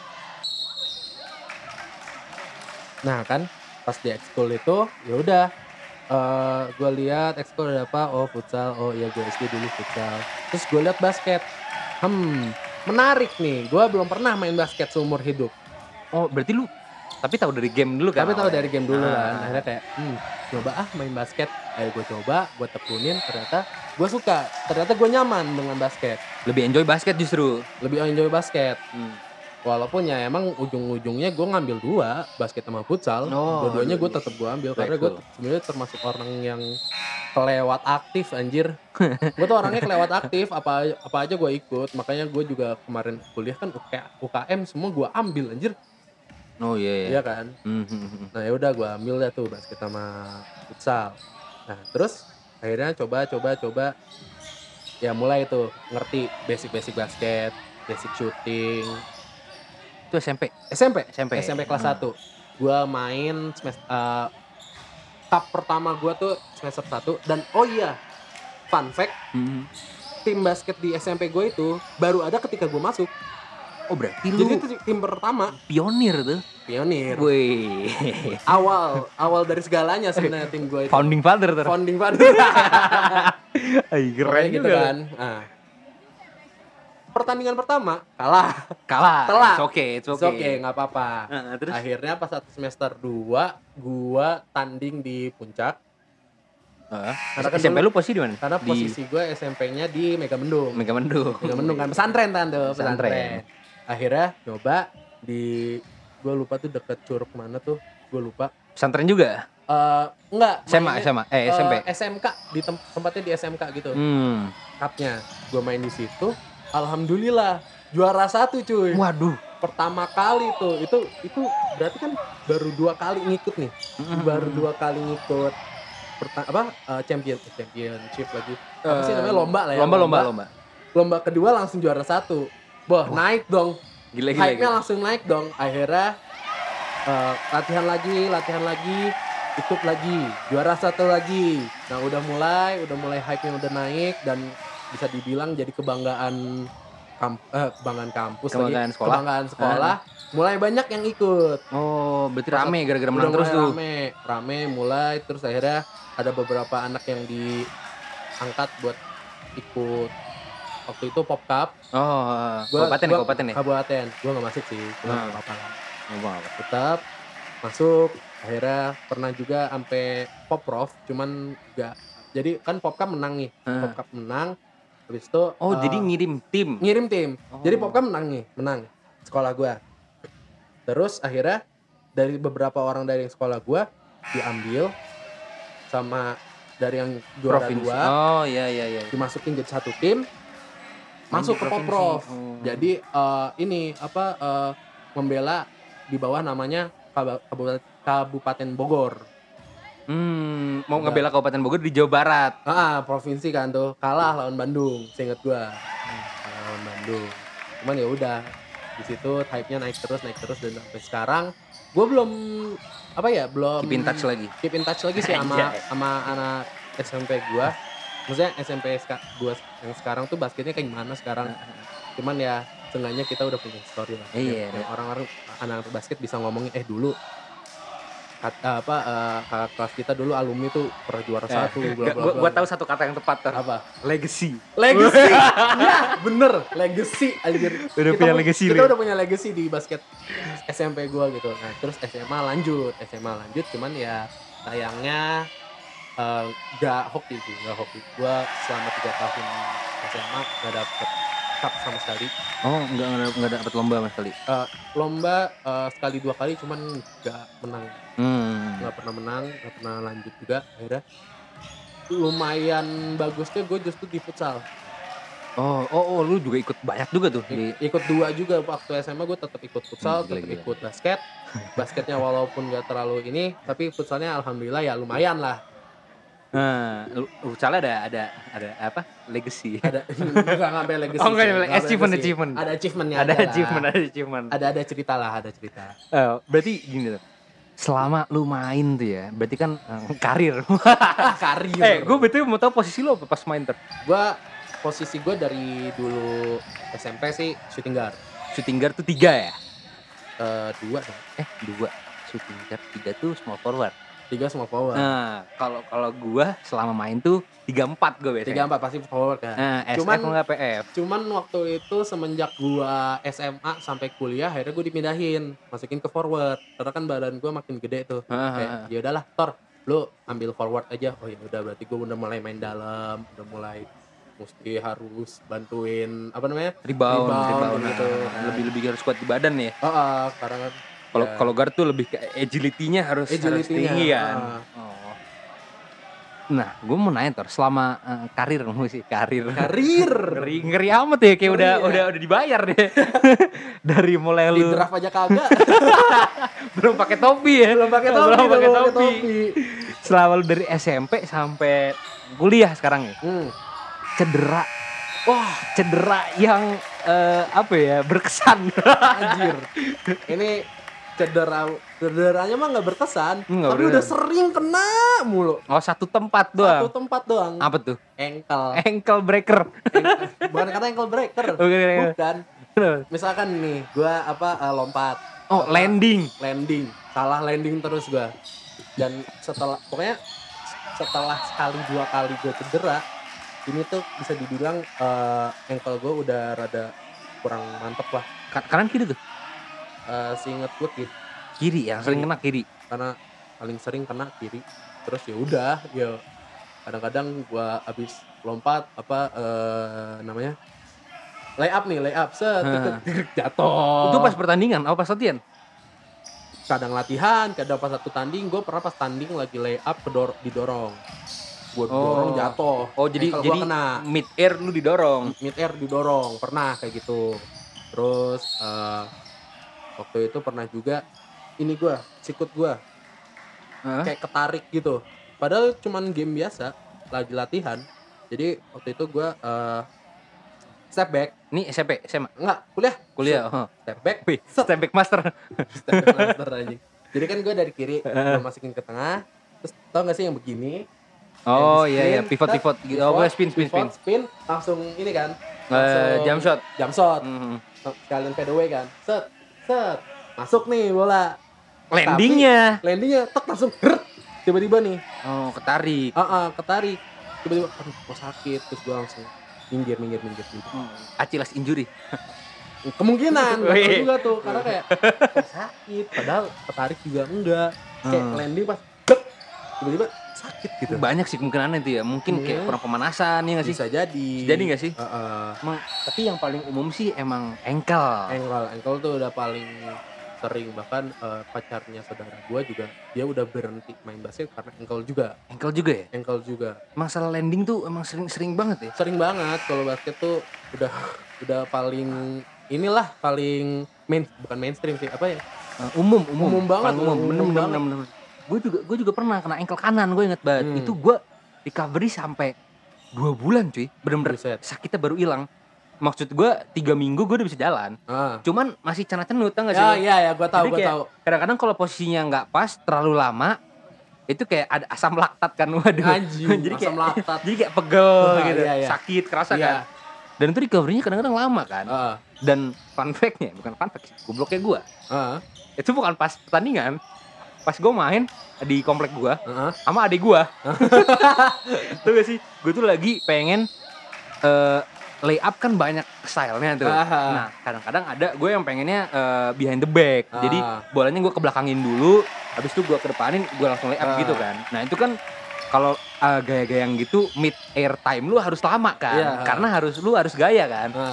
Nah kan pas di ekskul itu ya udah uh, gue lihat ekskul ada apa, oh futsal, oh iya gue S D dulu futsal. Terus gue lihat basket, hmm menarik nih. Gue belum pernah main basket seumur hidup. Oh berarti lu tapi tahu dari game dulu kan? Tapi tahu awalnya? dari game dulu Ah. kan. Akhirnya kayak, hmm, coba ah main basket. Ayo gue coba, gue tekunin. Ternyata gue suka. Ternyata gue nyaman dengan basket. Lebih enjoy basket justru. Lebih enjoy basket. Hmm. Walaupun ya emang ujung-ujungnya gue ngambil dua, basket sama futsal. Oh, Dua-duanya gue dua-duanya. tetap gue ambil. Baik, Karena gue cool. sebenarnya termasuk orang yang kelewat aktif anjir. Gue tuh orangnya kelewat aktif. Apa apa aja gue ikut. Makanya gue juga kemarin kuliah kan U K M semua gue ambil anjir. Oh iya iya. Iya kan. Hmm, hmm, hmm. Nah ya udah gue ambil dah tuh basket sama futsal. Nah terus akhirnya coba coba coba ya mulai tuh ngerti basic-basic basket, basic shooting. Itu S M P. S M P, S M P. S M P kelas Hmm. satu. Gue main semester uh, cup pertama gue tuh semester satu dan oh iya fun fact Hmm. tim basket di S M P gue itu baru ada ketika gue masuk. Oh berarti Jadi lu itu tim pertama pionir tuh. pionir. Wih. Awal awal dari segalanya sebenarnya tim gue itu. Founding father tuh. Founding father. Ay, keren Pokoknya gitu juga. kan. Nah. Pertandingan pertama kalah. Kalah. Telat. It's okay, it's Oke, okay. okay, nggak apa-apa. Heeh, terus Akhirnya pas satu semester dua, gua tanding di puncak. Heeh. Karena kan S M P dulu- lu posisi di mana? Karena Di posisi gue S M P-nya di Megamendung. Megamendung. Megamendung kan pesantren tante, Pesantren. pesantren. Akhirnya coba di gue lupa tuh deket Curug mana tuh, gue lupa. Pesantren juga? Eh enggak, S M A, mainnya, S M A, eh S M P. eh, S M K di tem- tempatnya di S M K gitu. Hmm. Cupnya gue main di situ. Alhamdulillah juara satu cuy. Waduh. Pertama kali tuh itu itu berarti kan baru dua kali ngikut nih. Hmm. Baru dua kali ngikut Perta- apa eh, champion eh, championship lagi apa sih Eh, namanya lomba lah ya Lomba, lomba, lomba. lomba kedua langsung juara satu. Wah, naik dong. Gila, gila, Hype-nya gila. langsung naik dong. Akhirnya eh, latihan lagi, latihan lagi, ikut lagi, juara satu lagi. Nah, udah mulai, udah mulai hype-nya udah naik dan bisa dibilang jadi kebanggaan kamp, eh, kebanggaan kampus Kebanggaan lagi, sekolah. kebanggaan sekolah. Mulai banyak yang ikut. Oh, berarti Pas- rame gara-gara Udah menang terus mulai tuh. Rame, rame mulai terus akhirnya ada beberapa anak yang diangkat buat ikut waktu itu Pop Cup. Oh, Gua- kabupaten, gua- kabupaten ya? Kabupaten. Gua nggak masuk sih, cuma Hmm. nggak apa-apa lah. Oh, apa. Tetap masuk. Akhirnya pernah juga sampai Pop Prof, cuman nggak. Jadi kan Pop Cup menang nih, Hmm. Pop Cup menang. Habis itu Oh, eh, jadi ngirim tim. ngirim tim. Oh. Jadi Pop Cup menang nih, menang sekolah gua. Terus akhirnya dari beberapa orang dari sekolah gua diambil sama dari yang juara Provinsi. dua Oh, iya iya iya. dimasukin jadi satu tim masuk di ke provinsi. Poprov. Oh. Jadi eh, ini apa eh, membela di bawah namanya Kab- Kabupaten, Kabupaten Bogor. Hmm, mau Udah. ngebela Kabupaten Bogor di Jawa Barat. Ah, provinsi kan tuh kalah lawan Bandung, seingat gua. Kalah lawan Bandung. Cuman ya udah di situ hype-nya naik terus naik terus dan sampai sekarang gua belum apa ya belum Keep in touch lagi. keep in touch lagi sih sama Anjay. sama anak S M P gua. Maksudnya S M P ska- gua yang sekarang tuh basketnya kayak gimana sekarang. Cuman ya seenggaknya kita udah punya story lah. Iya, Yang- yang orang-orang anak basket bisa ngomongin eh dulu kat- apa eh, kakak kelas kita dulu alumni tuh pernah juara satu bla bla Gua, bla. gua tahu satu kata yang tepat tuh. apa? Legacy. Legacy. Ya, bener, legacy anjir. Udah punya pu- legacy Kita lu. udah punya legacy di basket S M P gua gitu. Nah, terus S M A lanjut, S M A lanjut cuman ya sayangnya eh, gak hoki sih, gak hoki. Gua selama tiga tahun S M A gak dapet cup sama sekali. Oh, enggak enggak enggak dapat lomba sama sekali. Uh, lomba uh, sekali dua kali cuman nggak menang. Hmm. Nggak pernah menang, nggak pernah lanjut juga. Akhirnya lumayan bagusnya gue justru di futsal. Oh, oh, oh, lu juga ikut banyak juga tuh di I- ikut dua juga waktu S M A gue tetap ikut futsal, Hmm, gila, tetap gila. ikut basket. Basketnya walaupun nggak terlalu ini, tapi futsalnya alhamdulillah ya lumayan lah. Nah, lu- futsalnya ada ada ada apa? Legacy. Ada nggak ngambil legacy. Oh, nggak sih, nyampe nggak achievement, legacy. achievement. Ada achievementnya. Ada lah. achievement, ada achievement. Ada ada cerita lah, ada cerita. Eh, berarti gini tuh. Selama lu main tuh ya, berarti kan eh, karir. Ah, karir. eh, gue betul mau tahu posisi lu apa pas main ter? Gue posisi gue dari dulu S M P sih shooting guard. Shooting guard tuh tiga ya? Eh, dua dong. Eh, dua. Shooting guard tiga tuh small forward. Tiga semua forward. Nah, kalau kalau gua selama main tuh tiga empat gue biasanya. Tiga empat pasti forward kan. Nah, S F Cuman- enggak P F. Cuman waktu itu semenjak gua S M A sampai kuliah akhirnya gua dipindahin, masukin ke forward. Karena kan badan gua makin gede tuh. Ah, Kayak ah, ah. ya udahlah, Tor, lu ambil forward aja. Oh ya udah berarti gua udah mulai main dalam, udah mulai mesti harus bantuin apa namanya? Rebound, Rebound, rebound, gitu. nah, lebih lebih harus kuat di badan ya. Oh, oh, karena kan Kalau ya, kalau guard tuh lebih ke agility-nya harus harus Agility-nya, tinggi kan. ah. Oh. Nah, gue mau nanya Tor, selama eh, karir lu sih, karir. karir Ngeri, ngeri amat ya, kayak Ngeri udah ya. udah udah dibayar deh. Dari mulai di lu draft aja kagak. belum pakai topi ya. belum pakai topi, belum pakai belum pakai topi. topi. Selama lu dari S M P sampai kuliah sekarang ya. Hmm. Cedera. Wah, cedera yang eh, apa ya, berkesan. Anjir. Ini cedera cederanya mah nggak berkesan, Nggak tapi berkesan. udah sering kena mulu. Oh, satu tempat Satu doang. tempat doang. Apa tuh? Ankle. Ankle breaker. Ankle. Bukan kata ankle breaker. Bukan. Bukan. Misalkan nih, gua apa uh, lompat. Oh, Salah landing. Landing. Salah landing terus gua. Dan setelah pokoknya setelah sekali dua kali gua cedera, ini tuh bisa dibilang uh, ankle gua udah rada kurang mantep lah. Ka- Kanan kiri tuh. Uh, seinget gua gitu. Kiri yang sering kena kiri. Karena paling sering kena kiri. Terus ya udah, ya kadang-kadang gua abis lompat apa eh, namanya lay up nih, lay up set Hah. jatuh. Itu pas pertandingan, apa pas latihan? Kadang latihan, kadang pas satu tanding. Gue pernah pas tanding lagi lay up kedor didorong. Gue dorong jatuh. Oh, jadi Ankle gua jadi kena. mid air lu didorong. Mid air didorong, pernah kayak gitu. Terus eh, waktu itu pernah juga ini gue, sikut gue Hah? kayak ketarik gitu. Padahal cuman game biasa, lagi latihan. Jadi waktu itu gue uh, step back, Ini S M P, S M A, enggak kuliah, kuliah. Oh. step back, Wih, step back master. step back master anjing. Jadi kan gue dari kiri, gue masukin ke tengah. Terus tau gak sih yang begini? Oh Yang di iya iya, spin, pivot set, pivot. Oh, gue spin spin spin. pivot, spin, langsung ini kan. Eh, jump shot. Jump shot. Hmm. Sekalian fade away kan. Set, set. Masuk nih bola. Landingnya. Tapi, landingnya tek langsung grrrt. Tiba-tiba nih. Oh, ketarik. Ah, ah, ketarik. Tiba-tiba aduh kok sakit. Terus gue langsung minggir, minggir, minggir, minggir. Achilles injury. Kemungkinan, gak tahu Wih. juga tuh. Karena kayak kok sakit. Padahal ketarik juga enggak. Kayak Hmm. landing pas grrrt. Tiba-tiba sakit gitu. Banyak sih kemungkinan itu ya. Mungkin kayak Iya. kurang pemanasan ya nggak sih? Bisa jadi. Jadi nggak sih? Heeh. Emang, tapi yang paling umum sih emang ankle. Ankle, ankle tuh udah paling sering. Bahkan eh, pacarnya saudara gue juga, dia udah berhenti main basket karena ankle juga. Ankle juga ya? Ankle juga. Masalah landing tuh emang sering-sering banget ya? Sering banget kalau basket tuh udah udah paling inilah paling main, bukan mainstream sih, apa ya? Uh, umum, umum, Umum banget, Paling umum, umum bener, bener, banget. bener, bener. Gue juga, gue juga pernah kena ankle kanan, gue inget banget. Hmm. Itu gue recovery sampai dua bulan cuy, bener-bener Buset. sakitnya baru hilang. Maksud gue tiga minggu gue udah bisa jalan, Ah. cuman masih cenut-cenut, tau gak sih? Ya, lo? iya ya, gue tahu, Jadi gue kayak tahu. kadang-kadang kalau posisinya nggak pas, terlalu lama, itu kayak ada asam laktat kan, waduh. Anjing, jadi asam kayak, laktat. jadi kayak pegel Wah, gitu, iya, iya. sakit, kerasa Iya. kan. Dan itu recovery-nya kadang-kadang lama kan. Ah, Dan fun fact-nya, bukan fun fact, gobloknya gue. ah, Itu bukan pas pertandingan, pas gue main di komplek gue ah. sama adik gue. Tuh gak sih, gue tuh lagi pengen uh, lay up kan banyak stylenya tuh. Aha. Nah kadang-kadang ada gue yang pengennya uh, behind the back. Ah. Jadi bolanya gue kebelakangin dulu, habis itu gue kedepanin, gue langsung lay up Ah. gitu kan. Nah itu kan kalau uh, gaya-gaya yang gitu mid air time lu harus lama kan, Iya. karena harus lu harus gaya kan. Ah.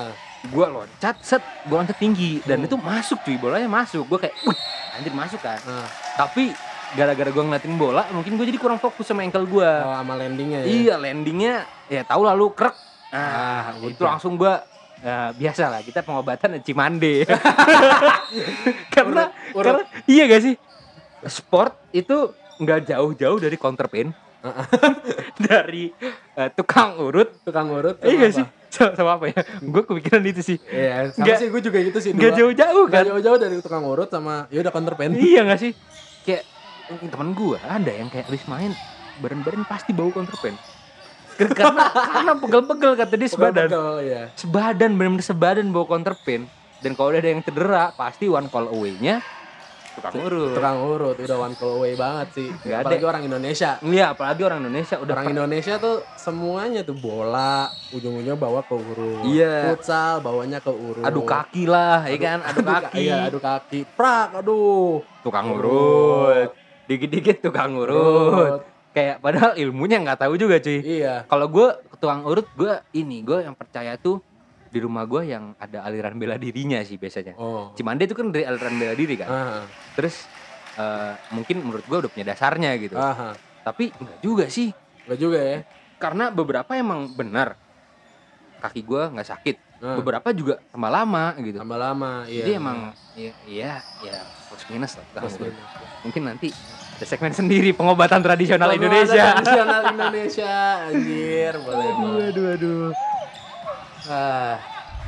gue loncat set gue loncat tinggi dan Hmm. itu masuk cuy, bolanya masuk. Gue kayak wih anjir masuk kan. Nah, Tapi gara-gara gue ngeliatin bola mungkin gue jadi kurang fokus sama ankle gue. oh, sama landingnya ya. Iya landingnya ya tahu lalu krek. Ah, Nah, itu udah. langsung gue ya, biasa lah kita pengobatan Cimande. karena Urut, urut. karena iya gak sih sport itu nggak jauh-jauh dari counterpain. Dari eh, tukang urut. Tukang urut. Iya sama gak apa? sih sama, sama apa ya? Gue kepikiran itu sih. Iya, sama Nggak- sih gue juga gitu sih. Nggak dua. jauh-jauh Nggak kan? jauh-jauh dari tukang urut sama ya udah counterpain. Iya gak sih? Kayak temen gue ada yang kayak habis main badan-badan pasti bau counterpain. Karena karena pegel-pegel kata dia sebadan. Pegel-pegel, ya. Sebadan benar-benar sebadan bau counterpain. Dan kalau udah ada yang cedera pasti one call away-nya tukang urut. Tukang urut udah one call away banget sih. Nggak ada. Apalagi orang Indonesia. Iya, apalagi orang Indonesia udah Orang per- Indonesia tuh semuanya tuh bola ujung-ujungnya bawa ke urut. Iya. Futsal bawanya ke urut. adu kaki lah, ya kan? Adu ka- kaki. Iya, adu kaki. Prak, aduh. Tukang Urut. urut. Dikit-dikit tukang urut. Urut. Kayak padahal ilmunya nggak tahu juga cuy. Iya. Kalau gue ke tukang urut, gue ini gue yang percaya tuh di rumah gue yang ada aliran bela dirinya sih biasanya. Oh. Cimande itu kan dari aliran bela diri kan. Ah, Terus eh, mungkin menurut gue udah punya dasarnya gitu. ah, Tapi enggak juga sih. enggak juga ya. Karena beberapa emang benar kaki gue nggak sakit. Ah, Beberapa juga tambah lama gitu. tambah lama, iya. Jadi emang ya iya ya plus minus lah. tukang Plus urut. minus. Mungkin nanti ada segmen sendiri pengobatan tradisional Pengobatan Indonesia. Tradisional Indonesia, anjir, boleh boleh. Aduh aduh. Ah.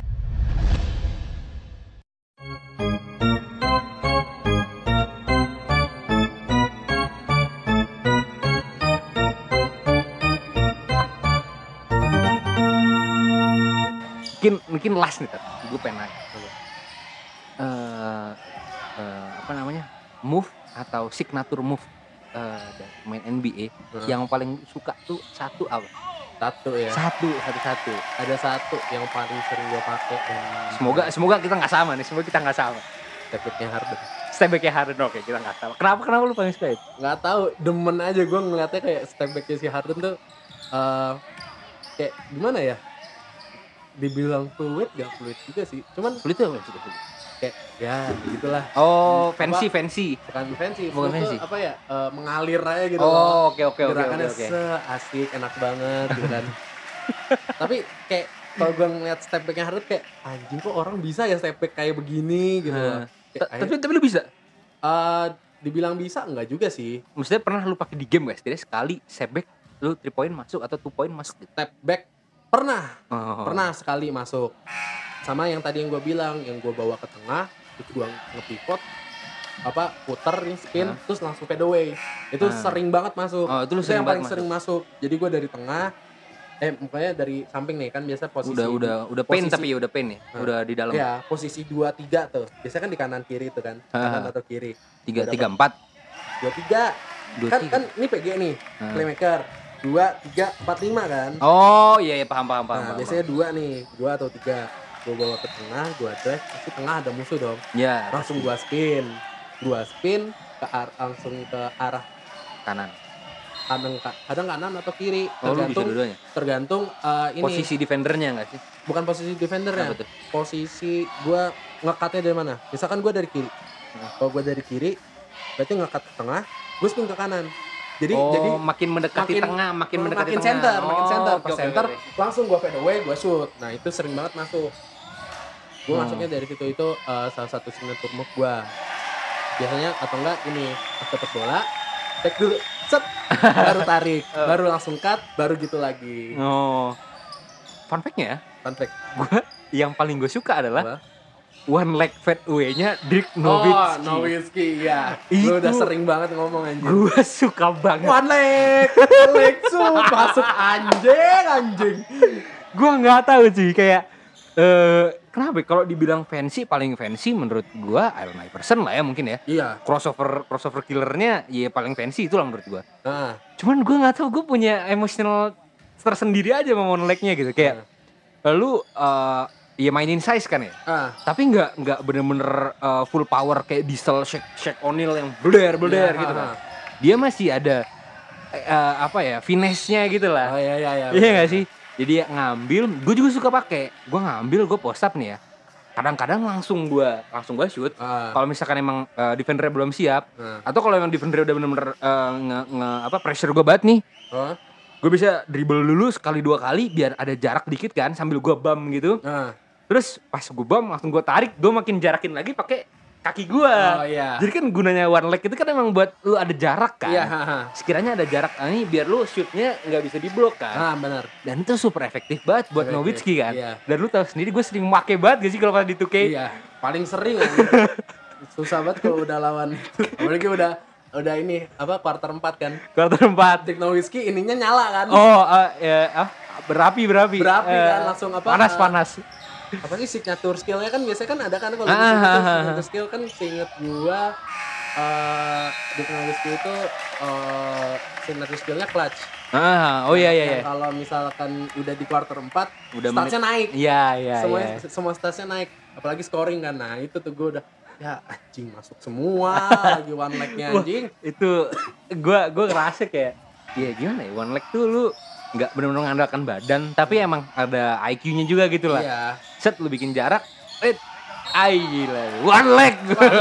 Mungkin mungkin last nih, gue pengen nanya. Eh, eh, apa namanya? Move atau signature move eh, dari pemain N B A Hmm. yang paling suka tuh satu apa? Satu ya. Satu, satu, satu. Ada satu yang paling sering gue pakai dan Semoga semoga kita nggak sama nih, semoga kita nggak sama. tepiknya Harden. Step back-nya Harden, oke kita nggak sama. Kenapa kenapa lu paling suka itu? Nggak tahu, demen aja gue ngeliatnya kayak step backnya si Harden tuh eh kayak gimana ya? Dibilang fluid gak fluid juga sih. Cuman Sulit tuh apa sulit? sulit? kayak ya gitulah. Oh, fancy fancy. Bukan fancy, Bukan fluid tuh fancy. apa ya? eh, mengalir aja gitu loh. Oh, oke oke oke oke Gerakannya oke. se-asik, enak banget gitu kan. Tapi kayak kalau gue ngeliat step backnya Harden kayak anjing kok orang bisa ya step back kayak begini gitu loh. Nah, Kayak, Ta- Tapi tapi lu bisa. eh, dibilang bisa enggak juga sih. Maksudnya pernah lu pakai di game guys? Jadi sekali step back lu three point masuk atau two point masuk gitu. Step back pernah, Oh. pernah sekali masuk. Sama yang tadi yang gue bilang, yang gue bawa ke tengah, terus gue nge-pivot, apa puter nih spin, Hah? terus langsung fade away. Itu Ah. sering banget masuk. Oh, itu lu Itu sering yang paling banget sering masuk. Jadi gue dari tengah, eh mukanya dari samping nih kan biasa posisi. Udah udah udah pain posisi- tapi ya udah pain ya. Nah. Udah di dalam. Ya, posisi dua tiga tuh. Biasanya kan di kanan kiri tuh kan. Kanan Ah. atau kiri. Tiga Udah tiga empat. dua tiga. Dua Kan tiga. kan ini P G nih, Ah. playmaker. dua tiga empat lima kan. Oh iya iya paham paham paham. Nah, paham, biasanya dua nih, dua atau tiga. Gue bawa ke tengah, gue drive, pasti tengah ada musuh dong. paham. Ya Langsung gue spin, gue spin ke ar- langsung ke arah kanan. kadang kadang kanan atau kiri, Oh lu bisa tergantung dua-duanya. tergantung eh, ini Posisi defendernya nggak sih? bukan posisi defendernya, Apa tuh? posisi gue ngekatnya dari mana? Misalkan gue dari kiri, Hmm. kalau gue dari kiri, berarti ngekat ke tengah, gue spin ke kanan. Jadi oh, jadi makin mendekati makin- tengah, makin mendekati makin tengah. center, makin Oh, center, oke, pas oke, center oke. langsung gue fade away, gue shoot. Nah itu sering banget masuk. Gue Hmm. masuknya dari situ itu eh, salah satu signature move gue. Biasanya atau enggak ini pas dapet bola, take dulu, set, baru tarik, Oh. baru langsung cut, baru gitu lagi. Oh. Fun fact-nya ya, Fun fact. gue yang paling gue suka adalah Apa? one leg fade away-nya Dirk Oh, Nowitzki. Nowitzki, ya. Itu- Lu udah sering banget ngomong anjing. Gue suka banget. One leg, leg shoot, masuk anjing, anjing. Gue nggak tahu sih kayak eh kenapa ya? Kalau dibilang fancy paling fancy menurut gue Allen Iverson lah ya mungkin ya. Iya. Crossover crossover killernya ya paling fancy itu lah menurut gue. Nah, Cuman gue nggak tahu, gue punya emotional tersendiri aja sama one leg-nya gitu kayak lu eh ya mainin size kan ya. ah, Tapi nggak nggak bener-bener uh, full power kayak Diesel, Shaq, Shaq O'Neal yang blur blur Iya, gitu ah, kan. ah. Dia masih ada uh, apa ya finesse-nya gitu Oh lah. iya iya iya. Iya nggak sih? Jadi ya ngambil, gue juga suka pakai. Gue ngambil, gue post up nih ya. Kadang-kadang langsung gue langsung gue shoot. Ah. Kalau misalkan emang uh, defender belum siap, Ah. atau kalau emang defender udah bener-bener uh, nge, nge apa pressure gue banget nih, Oh. gue bisa dribble dulu sekali dua kali biar ada jarak dikit kan, sambil gue bam gitu. Ah. Terus pas gue bam langsung gue tarik, gue makin jarakin lagi pakai kaki gue. Oh iya. Jadi kan gunanya one leg itu kan emang buat lu ada jarak kan. Iya, haha. Sekiranya ada jarak ini biar lu shootnya nggak bisa diblok kan. Ah, benar. Dan itu super efektif banget buat Efektif, Nowitzki kan. iya. Dan lu tahu sendiri gue sering make banget gak sih kalau di two K. Iya, paling sering kan. Susah banget kalau udah lawan. Apalagi udah udah ini apa quarter empat kan. Quarter empat. Dick Nowitzki ininya nyala kan. Oh, uh, ya, uh, berapi berapi. Berapi Eh, kan, langsung apa, Panas uh, panas. Apa sih signature skill-nya kan biasanya kan ada kan kalau Ah, di situ ah, ah. signature skill kan seinget gua eh Dick Nowitzki itu eh signature skill-nya clutch. Ah, oh iya iya Yang iya. Kalau misalkan udah di quarter empat Udah statsnya naik. Iya iya semua iya. semua statsnya naik, apalagi scoring kan. Nah, itu tuh gua udah ya anjing masuk semua lagi one leg-nya Wah, anjing. itu gua gua ngerasa kayak ya gimana ya, one leg tuh lu nggak benar-benar mengandalkan badan, tapi emang ada I Q-nya juga gitu lah. Iya. Set lu bikin jarak, eh, ay gila, one leg.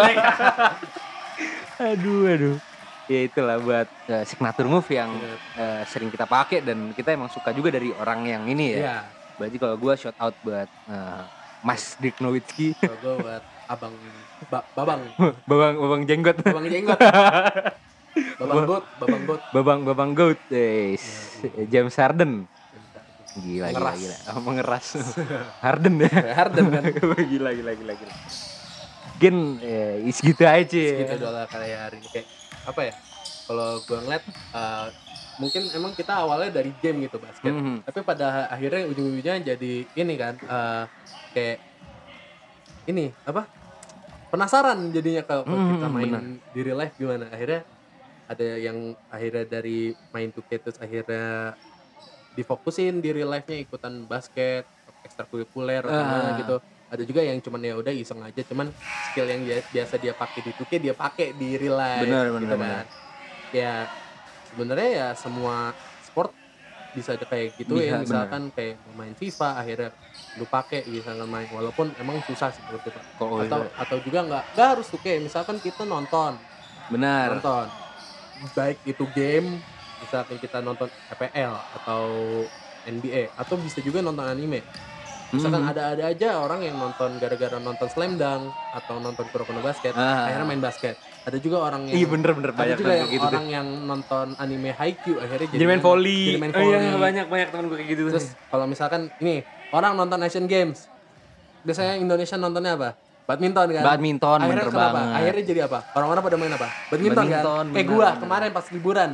aduh aduh. Ya itulah buat uh, signature move yang uh, sering kita pakai dan kita emang suka juga dari orang yang ini ya. Iya. Berarti kalau gua shout out buat uh, Mas Dirk Nowitzki, Kalau gua buat abang ba, babang babang babang jenggot, babang jenggot, babang bot, babang bot. babang babang goat, guys. James Harden. Gila, Mengeras. gila, gila. Oh, mengeras. Harden ya. Harden kan. gila, gila, gila, gila. Mungkin eh, segitu aja. Segitu doang kali hari ini kayak apa ya? Kalau gua ngeliat uh, mungkin emang kita awalnya dari game gitu basket. Mhm. Tapi pada akhirnya ujung-ujungnya jadi ini kan uh, kayak ini apa? Penasaran jadinya kalau Mhm, kita main benar. di real life gimana. Akhirnya ada yang akhirnya dari main two K terus akhirnya difokusin di real life-nya ikutan basket ekstrakurikuler atau Ah. gimana gitu. Ada juga yang cuman ya udah iseng aja, cuman skill yang dia- biasa dia pakai di two K dia pakai di real life. Benar, gitu benar, kan. benar. Ya sebenarnya ya semua sport bisa aja kayak gitu Bisa, ya, misalkan kayak main FIFA akhirnya lu pakai misalkan main, walaupun emang susah sih menurut kita. Kok atau atau juga nggak nggak harus two K, misalkan kita nonton benar. nonton baik itu game, misalkan kita nonton F P L atau N B A, atau bisa juga nonton anime. Misalkan Mhm. ada-ada aja orang yang nonton gara-gara nonton Slam Dunk atau nonton Kuroko no Basket, Ah. akhirnya main basket. Ada juga orang yang Iya bener-bener ada banyak juga temen yang kayak gitu. orang yang nonton anime Haikyuu akhirnya jadi, Jadi main volley. jadi main Oh iya, volley. banyak banyak temen gue kayak gitu. Terus kalau misalkan ini orang nonton Asian Games, biasanya Indonesia nontonnya apa? Badminton kan? Badminton, Akhirnya bener kenapa? banget. Akhirnya jadi apa? Orang-orang pada main apa? Badminton, Badminton, kan? Kayak bener, gua bener. kemarin pas liburan.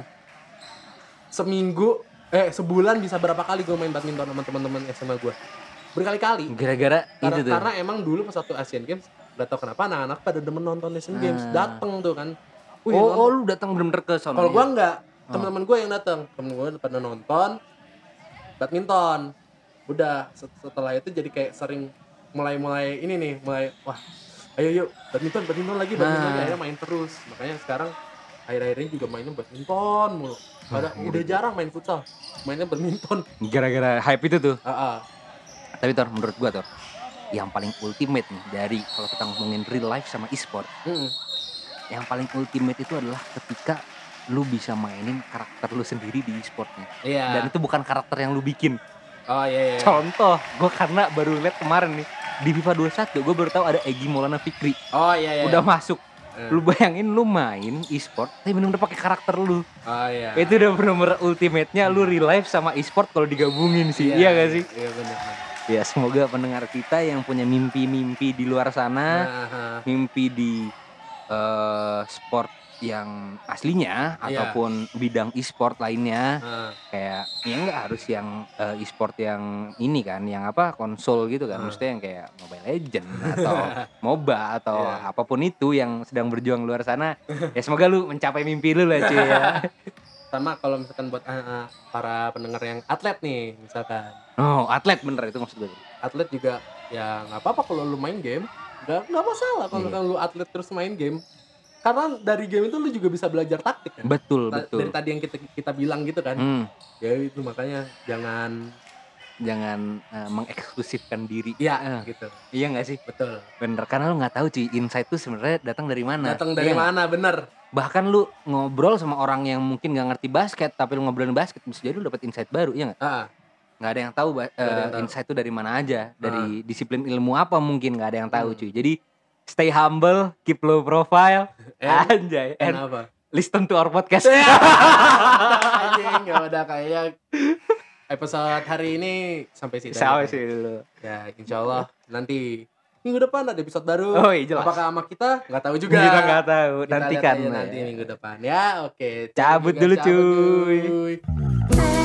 Seminggu eh sebulan bisa berapa kali gua main badminton sama teman-teman S M A gua? Berkali-kali. gara-gara Karena, itu tuh. karena emang dulu pas waktu Asian Games, gak tau kenapa anak-anak pada demen nonton Asian Games. Ah. Dateng tuh kan. Wih, oh, nonton. oh, lu datang bener-bener ke sono. Kalau gua ya? enggak, teman-teman gua yang datang. Temen gua pada nonton badminton. Udah set- setelah itu jadi kayak sering mulai-mulai ini nih, mulai wah, ayo yuk badminton, badminton lagi, badminton Nah. lagi. Akhirnya main terus. Makanya sekarang akhir-akhir ini juga mainnya badminton mulu. Pada Wah, udah jarang main futsal, mainnya badminton. gara-gara hype itu tuh. Ah, ah. Tapi Tor, menurut gua Tor, yang paling ultimate nih dari kalau kita ngomongin real life sama e-sport, Mm-mm. yang paling ultimate itu adalah ketika lu bisa mainin karakter lu sendiri di e-sportnya. Iya. Dan itu bukan karakter yang lu bikin. Oh iya iya. Contoh, gue karena baru lihat kemarin nih di FIFA dua puluh satu, gue baru tahu ada Egy Maulana Fikri. Oh iya iya. Udah masuk. Eh. Lu bayangin lu main e-sport, tapi bener-bener pakai karakter lu. Oh iya. Itu udah bener-bener ultimate-nya lu real life sama e-sport kalau digabungin sih. Iya, gak sih? Iya benar. Ya semoga pendengar kita yang punya mimpi-mimpi di luar sana, Nah, mimpi di eh, sport yang aslinya Iya. ataupun bidang e-sport lainnya, nah. kayak ya nggak harus yang eh, e-sport yang ini kan, yang apa konsol gitu kan, Hmm. maksudnya yang kayak Mobile Legend atau MOBA atau Iya. apapun itu yang sedang berjuang luar sana. Ya semoga lu mencapai mimpi lu lah cuy ya. Sama kalau misalkan buat ah, ah, para pendengar yang atlet nih, misalkan Oh atlet bener itu maksud gue. atlet juga ya nggak apa-apa kalau lu main game, nggak nggak masalah kalau Iya. misalkan lu atlet terus main game, karena dari game itu lu juga bisa belajar taktik kan. Betul Ta- betul. Dari tadi yang kita kita bilang gitu kan, Hmm. ya itu makanya jangan jangan uh, mengeksklusifkan diri. Iya, Eh, gitu. iya nggak sih? Betul. Bener, karena lu nggak tahu cuy insight tuh sebenarnya datang dari mana. Datang dari Iya nggak? mana, bener. Bahkan lu ngobrol sama orang yang mungkin nggak ngerti basket, tapi lu ngobrolin basket bisa jadi lu dapat insight baru, iya nggak? Ah, Nggak ada yang tahu ba- Nggak ada yang eh, tahu. insight itu dari mana aja, dari disiplin ilmu apa mungkin nggak ada yang tahu Hmm. cuy. Jadi stay humble, keep low profile, And- anjay, and and apa? listen to our podcast. Anjing, ya udah kayak episode hari ini sampai situ. aja. Sampai sih dulu. Ya, insya Allah nanti minggu depan ada episode baru. Oh iya jelas. Apakah sama kita? Nggak tahu juga. Kita nggak tahu, Kita lihat nantikan. aja nanti minggu depan. Ya, oke. Cabut Juga dulu, cabut, cuy. cuy.